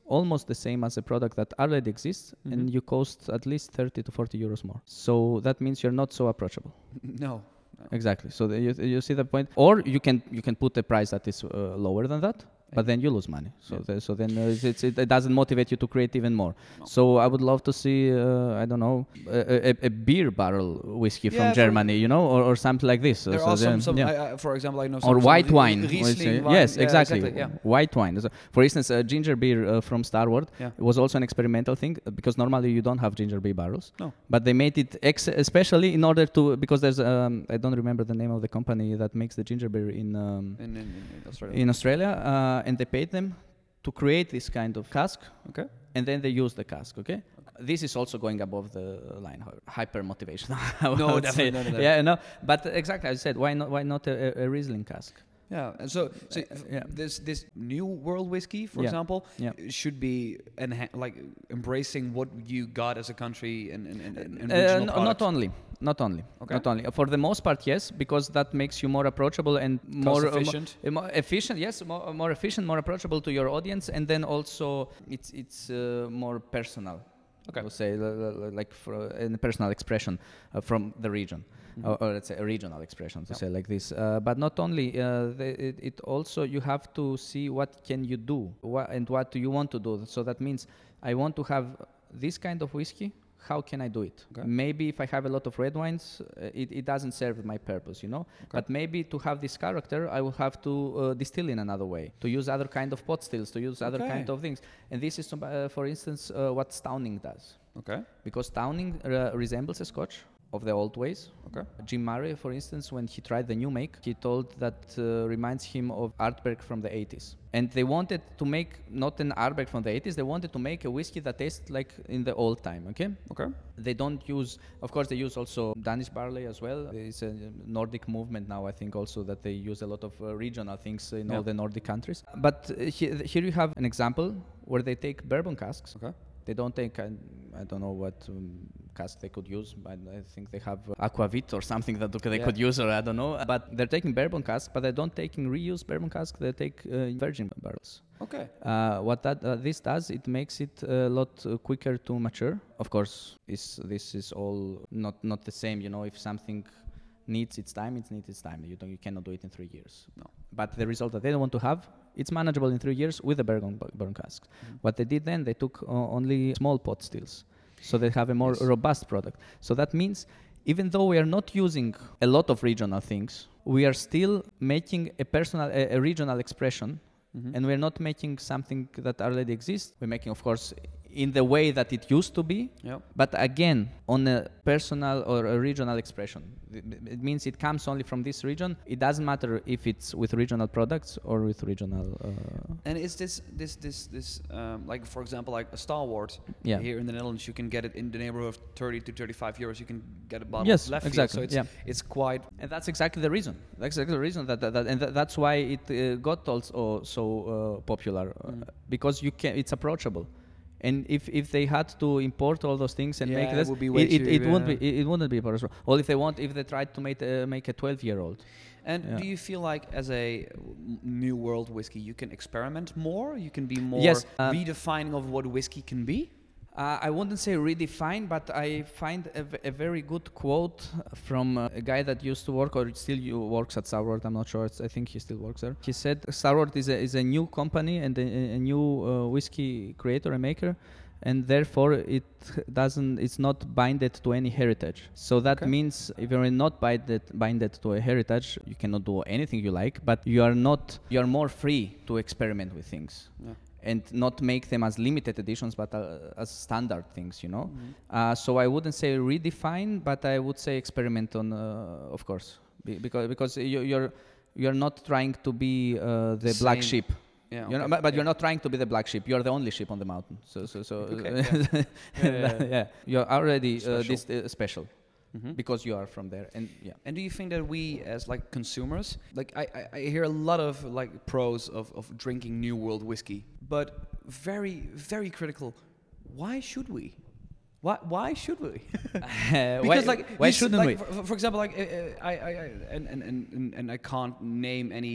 almost the same as a product that already exists, mm-hmm. and you cost at least thirty to forty euros more. So that means you're not so approachable. No. No. Exactly. So the, you, you see the point. Or you can you can put a price that is uh, lower than that, but then you lose money. So yeah. the, so then uh, it's, it, it doesn't motivate you to create even more. No. So I would love to see uh, I don't know a, a, a beer barrel whiskey yeah, from Germany, you know, or, or something like this. There so are some, then, some yeah. I, I, for example, I know some or white some wine. Riesling wine. Yes, yeah, exactly. exactly yeah. White wine. So for instance, uh, ginger beer uh, from Starward yeah. was also an experimental thing uh, because normally you don't have ginger beer barrels. No. But they made it ex- especially in order to because there's um, I don't remember the name of the company that makes the ginger beer in um, in, in, in Australia, in Australia uh, and they paid them to create this kind of cask, okay, and then they use the cask, okay? okay. This is also going above the line, hyper motivation. no, definitely, no, no, no. Yeah, no, but exactly, as I said, why not? Why not a, a Riesling cask? Yeah, and so, so uh, yeah. this this new world whiskey, for yeah. example, yeah. should be enha- like embracing what you got as a country and and, and, and uh, regional no, product. Not only, not only, okay. not only. For the most part, yes, because that makes you more approachable and more cost efficient. Uh, more, more efficient, yes, more, more efficient, more approachable to your audience, and then also it's it's uh, more personal. Okay. I would say like for in a personal expression uh, from the region. Mm-hmm. Or, or let's say a regional expression to yep. say like this, uh, but not only uh, the, it, it also you have to see what can you do wha- and what do you want to do. So that means I want to have this kind of whiskey. How can I do it? Okay. Maybe if I have a lot of red wines, uh, it, it doesn't serve my purpose, you know. Okay. But maybe to have this character, I will have to uh, distill in another way, to use other kind of pot stills, to use other okay. kind of things. And this is, uh, for instance, uh, what Stauning does. Okay. Because Stauning uh, resembles a Scotch of the old ways. Okay. Jim Murray, for instance, when he tried the new make, he told that uh, reminds him of Ardbeg from the eighties. And they wanted to make not an Ardbeg from the eighties, they wanted to make a whiskey that tastes like in the old time, okay? Okay. They don't use, of course they use also Danish barley as well. There is a Nordic movement now, I think also that they use a lot of uh, regional things in yeah. all the Nordic countries. But uh, he, here you have an example where they take bourbon casks. Okay. They don't take, I, I don't know what um, cask they could use, but I think they have uh, Aquavit or something that they yeah. could use, or I don't know. But they're taking bourbon cask, but they don't taking reused bourbon cask. They take uh, virgin barrels. Okay. Uh, what that uh, this does, it makes it a lot uh, quicker to mature. Of course, is this is all not not the same. You know, if something needs its time, it needs its time. You don't, you cannot do it in three years. No. But the result that they don't want to have, it's manageable in three years with the bourbon, bourbon casks. Mm-hmm. What they did then, they took uh, only small pot stills, so they have a more yes. robust product. So that means, even though we are not using a lot of regional things, we are still making a personal, a, a regional expression, mm-hmm. and we're not making something that already exists. We're making, of course, in the way that it used to be, yep. but again, on a personal or a regional expression. It, it means it comes only from this region. It doesn't matter if it's with regional products or with regional... Uh and is this, this, this, this um, like, for example, like a Starward, yeah. here in the Netherlands, you can get it in the neighborhood of thirty to thirty-five euros. You can get a bottle yes, of left exactly. field. So it's, yeah. it's quite... And that's exactly the reason. That's exactly the reason. That, that, that And th- that's why it uh, got also so uh, popular. Mm. Uh, because you can, it's approachable. And if, if they had to import all those things and yeah, make this, it, would be it, it, it yeah. wouldn't be it, it wouldn't be possible. Or if they want, if they tried to make uh, make a twelve year old. And yeah. do you feel like as a new world whiskey, you can experiment more? You can be more yes, uh, redefining of what whiskey can be? Uh, I wouldn't say redefine, but I find a, v- a very good quote from uh, a guy that used to work or still works at Starward. I'm not sure. It's, I think he still works there. He said Starward is a is a new company and a, a new uh, whiskey creator and maker, and therefore it doesn't. It's not binded to any heritage. So that okay. means if you're not binded binded to a heritage, you cannot do anything you like. But you are not. You are more free to experiment with things. Yeah. And not make them as limited editions, but uh, as standard things, you know. Mm-hmm. Uh, so I wouldn't say redefine, but I would say experiment on, uh, of course, Be- because because you, you're you're not trying to be uh, the Same. black sheep. Yeah, okay. You know, but, but yeah. you're not trying to be the black sheep. You're the only sheep on the mountain. So so so. Okay, yeah. yeah, yeah, yeah. You're already special. Uh, this uh, special. Mm-hmm. Because you are from there, and yeah. And do you think that we, as like consumers, like I, I, I hear a lot of like pros of, of drinking New World whiskey, but very very critical. Why should we? Why why should we? uh, because why, like why shouldn't like we? For, for example, like uh, I, I, I and, and and and I can't name any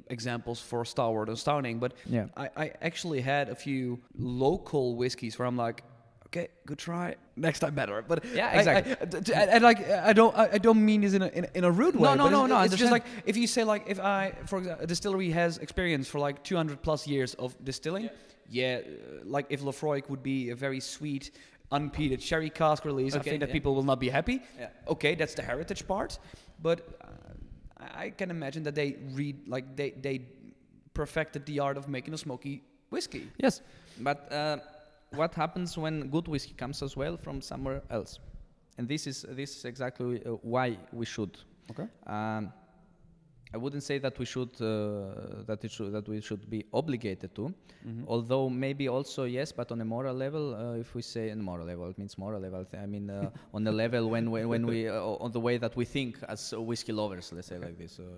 examples for Starward and Stouning, but yeah. I, I actually had a few local whiskeys where I'm like, okay, good try. Next time better. But yeah, exactly. I, I, I, and like I don't I, I don't mean this in a in, a- in a rude way. No, no, but no, it's, no, I It's just understand. like if you say like if I, for example, a distillery has experience for like two hundred plus years of distilling. Yeah, uh, like if Lefroy would be a very sweet, unpeated sherry cask release, I Okay, think that yeah. people will not be happy. Yeah. Okay, that's the heritage part, but uh, I I can imagine that they read like they they perfected the art of making a smoky whiskey. Yes, but uh, what happens when good whiskey comes as well from somewhere else? And this is this is exactly uh, why we should. Okay. Um, I wouldn't say that we should uh, that it should that we should be obligated to, Mm-hmm. although maybe also yes, but on a moral level, uh, if we say on moral level, it means moral level. I mean, uh, on the level when when, when we uh, on the way that we think as uh, whiskey lovers, let's say like this. Uh,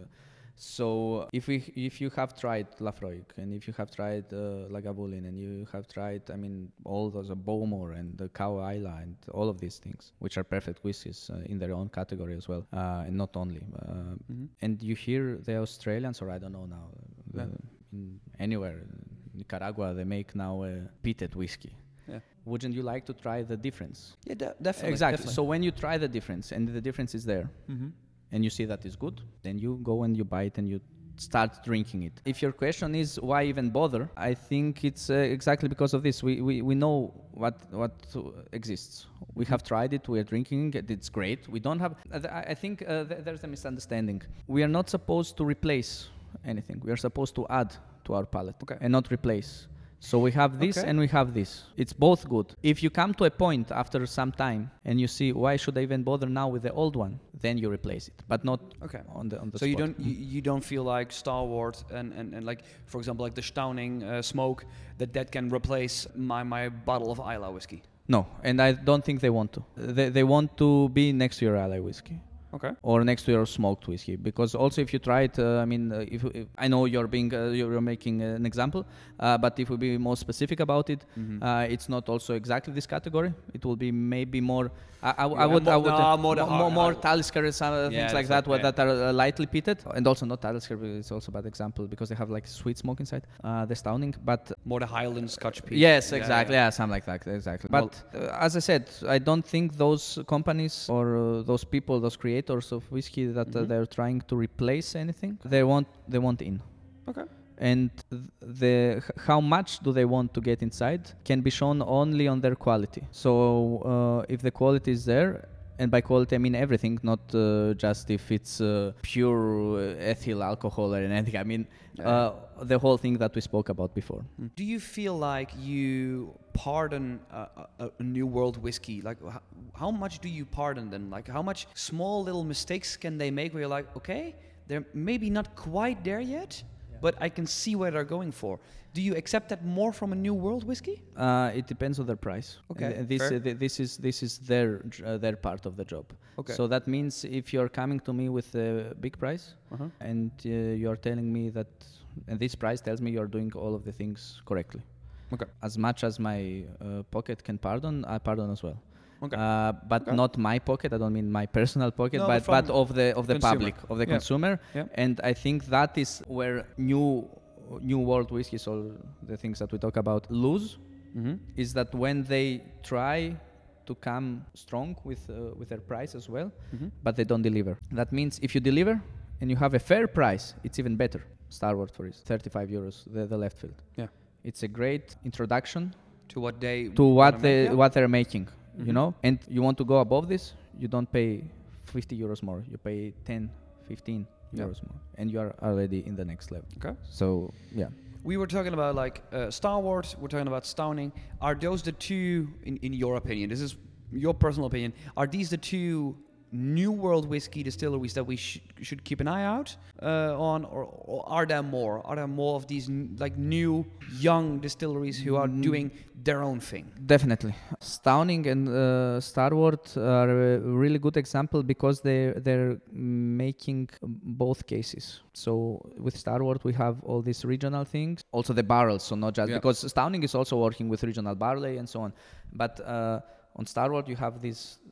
so if we if you have tried Lafroig and if you have tried uh, Lagavulin and you have tried, I mean, all those uh, Bowmore and the Cow Isla and all of these things, which are perfect whiskies uh, in their own category as well, uh, and not only. Uh, Mm-hmm. and you hear the Australians, or I don't know now, the, Yeah. in anywhere, Nicaragua, they make now a peated whiskey. Yeah. Wouldn't you like to try the difference? Yeah, de- definitely. Exactly. Definitely. So when you try the difference and the difference is there, Mm-hmm. and you see that is good, then you go and you buy it and you start drinking it. If your question is why even bother, I think it's uh, exactly because of this. We, we, we know what what uh, exists. We have tried it. We are drinking it. It's great. We don't have. Uh, th- I I think uh, th- there's a misunderstanding. We are not supposed to replace anything. We are supposed to add to our palate Okay. and not replace. So we have this Okay. and we have this. It's both good. If you come to a point after some time and you see why should I even bother now with the old one, then you replace it, but not Okay. on the on the So you spot. don't you, you don't feel like Star Wars and, and, and like for example like the Stauning uh, smoke that that can replace my, my bottle of Isla whiskey. No, and I don't think they want to. They, they want to be next to your Islay whiskey. Okay. Or next to your smoked whiskey, because also if you try it, uh, I mean, uh, if, if I know you're being uh, you're making an example, uh, but if we be more specific about it, Mm-hmm. uh, it's not also exactly this category. It will be maybe more. I, I, I Yeah, would more- I would no, more the more, hard- more hard- Talisker and some uh, Yeah, things like that's that, like- what, that are uh, lightly peated, and also not Talisker. It's also a bad example because they have like sweet smoke inside. Uh, the Stauning, but More the Highland Scotch peat. yes, Yeah, exactly. yeah. Yeah, something like that. Exactly. But uh, as I said, I don't think those companies or uh, those people, those creators of whiskey, that uh, Mhm. they're trying to replace anything. They want, they want in. Okay. And th- the h- how much do they want to get inside can be shown only on their quality. So uh, if the quality is there, and by quality I mean everything, not uh, just if it's uh, pure uh, ethyl alcohol or anything. I mean uh, the whole thing that we spoke about before. Do you feel like you pardon a, a, a New World whiskey? Like, how, how much do you pardon them? Like, how much small little mistakes can they make where you're like, okay, they're maybe not quite there yet, but I can see where they're going for. Do you accept that more from a New World whiskey? Uh, it depends on their price. Okay, And- and this fair. uh, th- this is this is their j- uh, their part of the job. Okay. So that means if you're coming to me with a big price Uh-huh. and uh, you're telling me that, and this price tells me you're doing all of the things correctly. Okay. As much as my uh, pocket can pardon, I pardon as well. Okay. Uh, but Okay. not my pocket. I don't mean my personal pocket, No, but but but from of the of the consumer. public, of the Yeah. consumer. Yeah. And I think that is where new new world whiskies, or the things that we talk about, lose. Mm-hmm. Is that when they try to come strong with uh, with their price as well, Mm-hmm. but they don't deliver. That means if you deliver and you have a fair price, it's even better. Starward, for instance, thirty-five euros, the, the left field. Yeah. It's a great introduction To what they to what wanna they make, yeah. what they're making, Mhm. you know. And you want to go above this, you don't pay fifty euros more. You pay ten, fifteen Yeah. euros more, and you are already in the next level. Okay. So yeah. We were talking about like uh, Star Wars. We're talking about Stauning. Are those the two, in, in your opinion? This is your personal opinion. Are these the two New World whiskey distilleries that we sh- should keep an eye out uh, on, or, or are there more? Are there more of these n- like new, young distilleries who are Mm. doing their own thing? Definitely. Stauning and uh, Starward are a really good example because they they're making both cases. So with Starward we have all these regional things, also the barrels, so not just Yeah. because Stauning is also working with regional barley and so on. But uh, on Starward you have these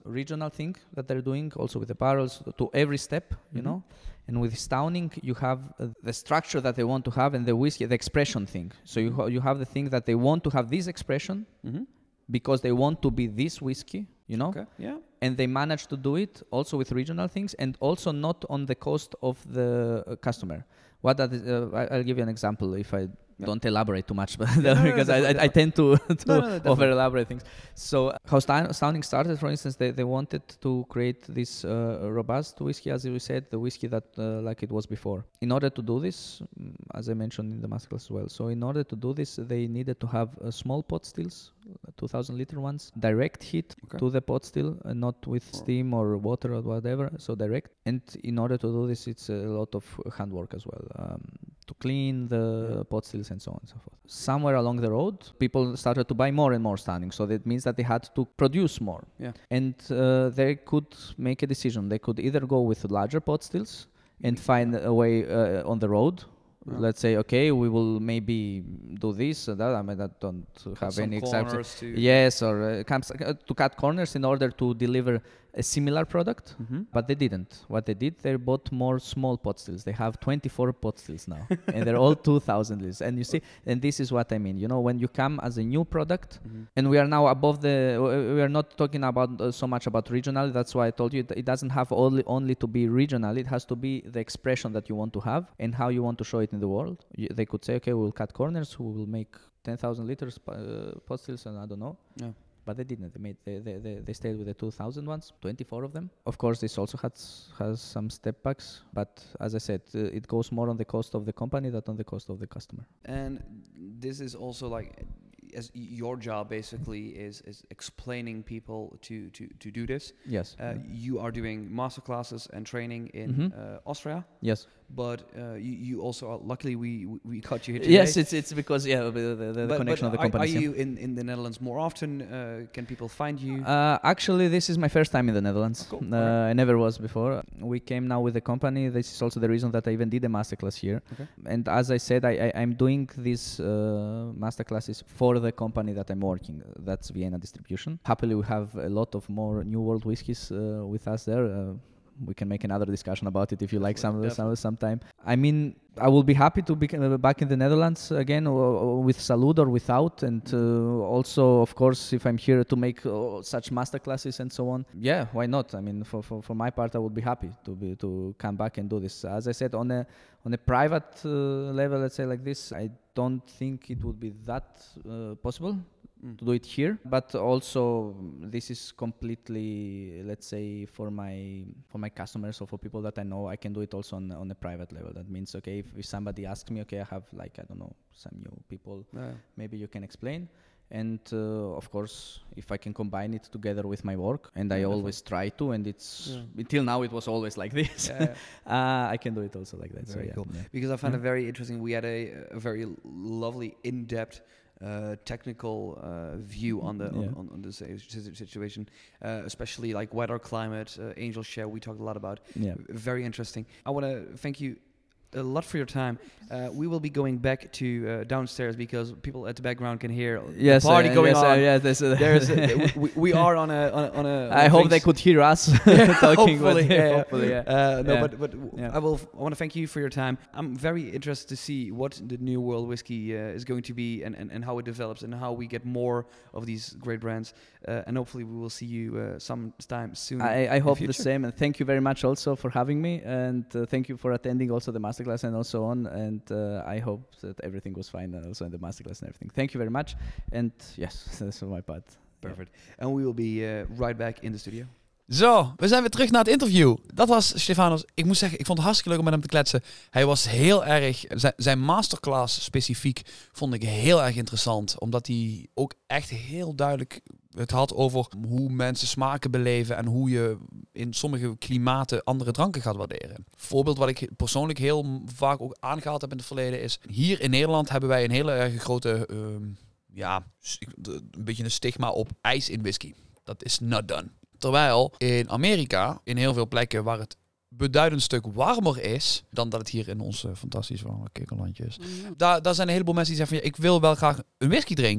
regional thing that they're doing, also with the barrels, to every step, you mm-hmm. know. And with stowning, you have uh, the structure that they want to have, and the whiskey, the expression thing. So you ha- you have the thing that they want to have this expression mm-hmm. because they want to be this whiskey, you know. Okay. Yeah. And they manage to do it also with regional things, and also not on the cost of the uh, customer. What that is, uh, I'll give you an example if I yeah. don't elaborate too much, but no, because no, I, I, I tend to, to no, no, over elaborate things. So how Stowning started, for instance, they, they wanted to create this uh, robust whiskey, as we said, the whiskey that uh, like it was before. In order to do this, as I mentioned in the masterclass as well, so in order to do this, they needed to have uh, small pot stills, two thousand liter ones, direct heat okay. to the pot still, uh, not with oh. steam or water or whatever, so direct. And in order to do this, it's a lot of handwork as well, um, to clean the yeah. pot stills and so on and so forth. Somewhere along the road, people started to buy more and more Stowning, so that means that they had to produce more. Yeah. And uh, they could make a decision. They could either go with larger pot stills and find a way uh, on the road. Yeah. Let's say, okay, we will maybe do this or that. I mean, that don't have Some any corners to yes, or uh, comes, uh, to cut corners in order to deliver a similar product, mm-hmm. but they didn't. What they did, they bought more small pot stills. They have twenty-four pot stills now, and they're all two thousand liters. And you see, and this is what I mean. You know, when you come as a new product, mm-hmm. and we are now above the, we are not talking about uh, so much about regional. That's why I told you it doesn't have only only to be regional. It has to be the expression that you want to have and how you want to show it in the world. You, they could say, okay, we will cut corners. We will make ten thousand liters uh, pot stills, and I don't know. Yeah. But they didn't. They made. They, they, they, they stayed with the two thousand ones, twenty-four of them. Of course, this also has has some step backs. But as I said, uh, it goes more on the cost of the company than on the cost of the customer. And this is also like, as your job basically is is explaining people to to to do this. Yes. Uh, yeah. You are doing master classes and training in mm-hmm. uh, Austria. Yes. But uh, you, you also are, luckily we we caught you here today. Yes, it's it's because yeah the, the, the but, connection but of the company. Are, are you in, in the Netherlands more often? Uh, can people find you? Uh, actually, this is my first time in the Netherlands. Oh, cool. uh, right. I never was before. We came now with the company. This is also the reason that I even did a masterclass here. Okay. And as I said, I, I I'm doing these uh, masterclasses for the company that I'm working. That's Vienna Distribution. Happily, we have a lot of more New World whiskies uh, with us there. Uh, we can make another discussion about it if you like some, some sometime. I mean, I will be happy to be uh, back in the Netherlands again, or, or with Salud or without. And uh, also, of course, if I'm here to make uh, such masterclasses and so on, yeah, why not? I mean, for, for, for my part, I would be happy to be to come back and do this. As I said, on a on a private uh, level, let's say like this, I don't think it would be that uh, possible. Mm. To do it here, but also this is completely, let's say, for my for my customers or for people that I know, I can do it also on on a private level. That means, okay, if, if somebody asks me, okay, I have like I don't know some new people, yeah. maybe you can explain. And uh, of course, if I can combine it together with my work, and yeah, I always try to, and it's yeah. until now it was always like this. Yeah, yeah. uh, I can do it also like that. Very so, cool. Yeah. Because I found yeah. it very interesting. We had a, a very lovely, in-depth. Uh, technical uh, view on the yeah. on, on the situation, uh, especially like weather, climate, uh, Angel Share. We talked a lot about. Yeah. Very interesting. I want to thank you a lot for your time. Uh, we will be going back to uh, downstairs because people at the background can hear yes, the party uh, going yes, on. Uh, yes, there's a there's a, we, we are on a on a. On a I hope they could hear us talking. Hopefully, with yeah. hopefully, yeah. Uh, no, yeah. but but yeah. I will. I want to thank you for your time. I'm very interested to see what the New World Whiskey uh, is going to be and, and, and how it develops and how we get more of these great brands. Uh, and hopefully we will see you uh, sometime soon. I, I hope the, the same, and thank you very much also for having me, and uh, thank you for attending also the masterclass and also on. And uh, I hope that everything was fine also in the masterclass and everything. Thank you very much, and yes, that's on my part. Perfect. Yeah. And we will be uh, right back in the studio. Zo, we zijn weer terug naar het interview. Dat was Stefanos. Ik moet zeggen, ik vond het hartstikke leuk om met hem te kletsen. Hij was heel erg... Zijn, zijn masterclass specifiek vond ik heel erg interessant. Omdat hij ook echt heel duidelijk het had over hoe mensen smaken beleven en hoe je in sommige klimaten andere dranken gaat waarderen. Voorbeeld wat ik persoonlijk heel vaak ook aangehaald heb in het verleden is... Hier in Nederland hebben wij een hele erg grote... Uh, ja, een beetje een stigma op ijs in whisky. Dat is not done. Terwijl in Amerika, in heel veel plekken waar het beduidend stuk warmer is dan dat het hier in ons uh, fantastisch warme kikkerlandje is. Mm-hmm. Daar, daar zijn een heleboel mensen die zeggen van ja, ik wil wel graag een whisky drinken.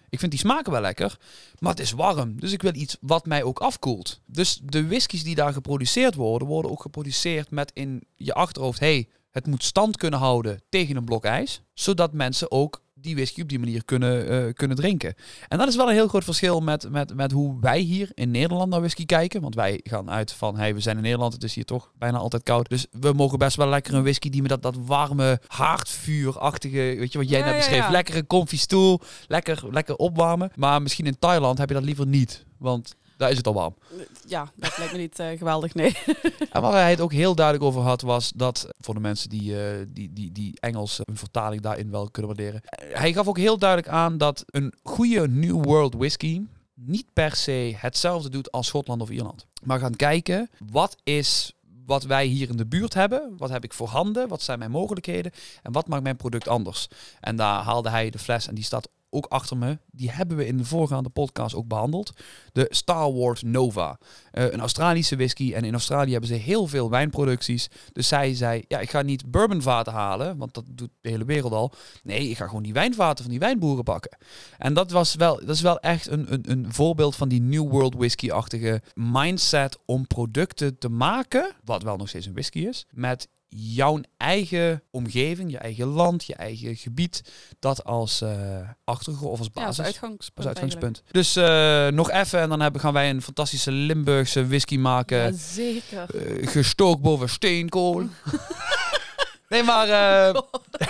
Ik vind die smaken wel lekker, maar het is warm. Dus ik wil iets wat mij ook afkoelt. Dus de whiskies die daar geproduceerd worden, worden ook geproduceerd met in je achterhoofd, hey, het moet stand kunnen houden tegen een blok ijs, zodat mensen ook die whisky op die manier kunnen, uh, kunnen drinken. En dat is wel een heel groot verschil met, met, met hoe wij hier in Nederland naar whisky kijken. Want wij gaan uit van, hey, we zijn in Nederland, het is hier toch bijna altijd koud. Dus we mogen best wel lekker een whisky die met dat, dat warme, haardvuurachtige, weet je wat jij ja, net beschreef, ja, ja. lekkere comfy stoel, lekker, lekker opwarmen. Maar misschien in Thailand heb je dat liever niet, want daar is het al warm. Ja, dat lijkt me niet uh, geweldig, nee. En waar hij het ook heel duidelijk over had, was dat, voor de mensen die, uh, die, die, die Engels een vertaling daarin wel kunnen waarderen. Hij gaf ook heel duidelijk aan dat een goede New World whisky niet per se hetzelfde doet als Schotland of Ierland. Maar gaan kijken, wat is wat wij hier in de buurt hebben? Wat heb ik voorhanden? Wat zijn mijn mogelijkheden? En wat maakt mijn product anders? En daar haalde hij de fles en die staat ook achter me. Die hebben we in de voorgaande podcast ook behandeld. De Star Wars Nova. Uh, een Australische whisky. En in Australië hebben ze heel veel wijnproducties. Dus zij zei, ja, ik ga niet bourbonvaten halen, want dat doet de hele wereld al. Nee, ik ga gewoon die wijnvaten van die wijnboeren pakken. En dat was wel, dat is wel echt een, een, een voorbeeld van die New World whisky-achtige mindset om producten te maken, wat wel nog steeds een whisky is, met jouw eigen omgeving, je eigen land, je eigen gebied, dat als uh, achtergrond of als basis. Ja, als uitgangspunt. Als uitgangspunt. Dus uh, nog even en dan hebben, gaan wij een fantastische Limburgse whisky maken. Ja, zeker. Uh, gestookt boven steenkool. Nee, maar... Uh...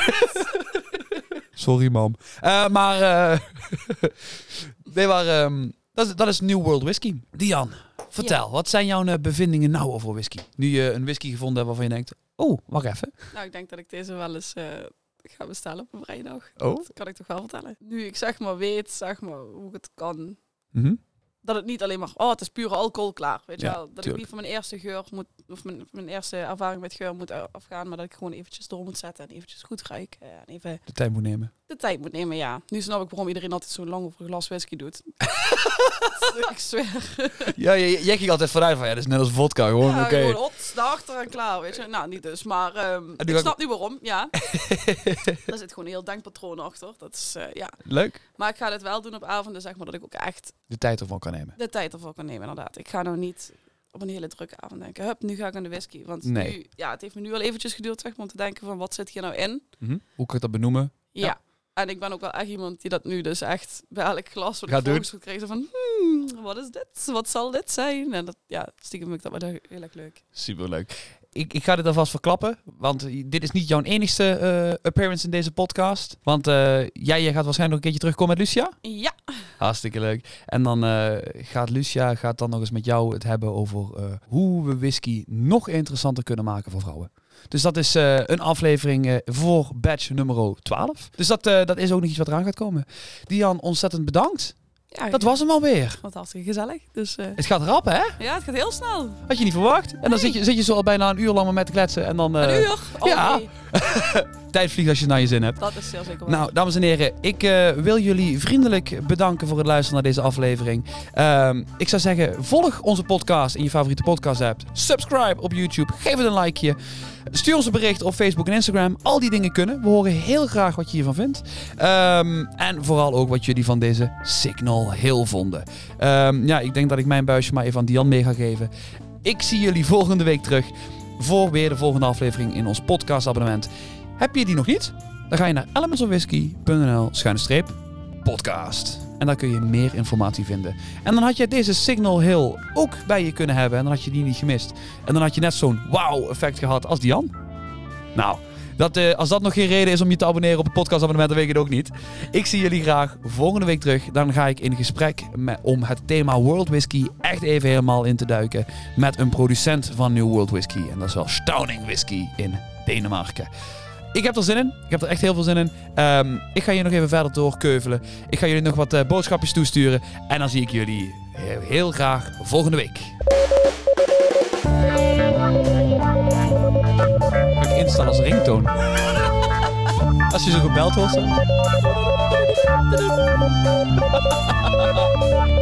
Sorry, mam. Uh, maar... Uh... nee, maar... Um... Dat is, dat is New World Whisky. Dian, vertel. Ja. Wat zijn jouw uh, bevindingen nou over whisky? Nu je een whisky gevonden hebt waarvan je denkt... Oh, wacht even. Nou, ik denk dat ik deze wel eens uh, ga bestellen op een vrijdag. Oh? Dat kan ik toch wel vertellen. Nu ik zeg maar weet, zeg maar, hoe ik het kan... Mm-hmm. Dat het niet alleen maar, oh, het is pure alcohol, klaar. Weet je Ja, wel? Dat tuurlijk. ik niet van mijn eerste geur moet, of mijn, mijn eerste ervaring met geur moet afgaan, maar dat ik gewoon eventjes door moet zetten en eventjes goed ruiken. En even De tijd moet nemen. de tijd moet nemen, ja. Nu snap ik waarom iedereen altijd zo lang over een glas whisky doet. Ik zweer. Ja, jij, jij ging altijd vanuit van, ja, dat is net als vodka, gewoon Ja, oké. Okay. gewoon hot, daarachter en klaar, weet je. Nou, niet dus, maar um, ik ga... snap nu waarom, ja. Daar zit gewoon een heel denkpatroon achter. Dat is, uh, ja. Leuk. Maar ik ga dit wel doen op avonden, zeg maar, dat ik ook echt De tijd ervan kan nemen. de tijd ervoor kan nemen, inderdaad. Ik ga nou niet op een hele drukke avond denken, hup, nu ga ik aan de whisky. Want Nee. nu, ja, het heeft me nu al eventjes geduurd, zeg maar, om te denken van, wat zit hier nou in? Mm-hmm. Hoe kan ik dat benoemen? Ja. Ja. En ik ben ook wel echt iemand die dat nu dus echt bij elk glas wat ik Gaat doen. volgens gekregen van, hmm, wat is dit? Wat zal dit zijn? En dat, ja, stiekem vind ik dat wel heel erg leuk. Superleuk. Ik, ik ga dit alvast verklappen, want dit is niet jouw enigste uh, appearance in deze podcast. Want uh, jij, jij gaat waarschijnlijk nog een keertje terugkomen met Lucia. Ja. Hartstikke leuk. En dan uh, gaat Lucia gaat dan nog eens met jou het hebben over uh, hoe we whisky nog interessanter kunnen maken voor vrouwen. Dus dat is uh, een aflevering uh, voor batch nummer twaalf. Dus dat, uh, dat is ook nog iets wat eraan gaat komen. Dian, ontzettend bedankt. Ja, Dat was hem alweer. wat hartstikke gezellig. Dus, uh, Het gaat rap, hè? ja, het gaat heel snel. Had je niet verwacht. En dan Nee. zit je, zit je zo al bijna een uur lang maar met te kletsen. En dan, uh, Een uur? Oh, ja. nee. Tijd vliegt als je het naar je zin hebt. Dat is zeer zeker waar. Nou, dames en heren, ik uh, wil jullie vriendelijk bedanken voor het luisteren naar deze aflevering. Um, ik zou zeggen, volg onze podcast in je favoriete podcast app. Subscribe op YouTube, geef het een likeje. Stuur ons een bericht op Facebook en Instagram. Al die dingen kunnen. We horen heel graag wat je hiervan vindt. Um, en vooral ook wat jullie van deze Signal Hill vonden. Um, ja, ik denk dat ik mijn buisje maar even aan Dian mee ga geven. Ik zie jullie volgende week terug voor weer de volgende aflevering in ons podcastabonnement. Heb je die nog niet? Dan ga je naar elementsofwhisky.nl schuine streep podcast. En daar kun je meer informatie vinden. En dan had je deze Signal Hill ook bij je kunnen hebben. En dan had je die niet gemist. En dan had je net zo'n wow effect gehad als Dian. Nou, dat, uh, als dat nog geen reden is om je te abonneren op het podcastabonnement, dan weet ik het ook niet. Ik zie jullie graag volgende week terug. Dan ga ik in gesprek met, om het thema World Whisky echt even helemaal in te duiken. Met een producent van New World Whisky. En dat is wel Stauning Whisky in Denemarken. Ik heb er zin in. Ik heb er echt heel veel zin in. Um, ik ga hier nog even verder doorkeuvelen. Ik ga jullie nog wat uh, boodschapjes toesturen. En dan zie ik jullie heel, heel graag volgende week. Ga ik instellen als ringtoon. Als je zo gebeld wordt. Zo.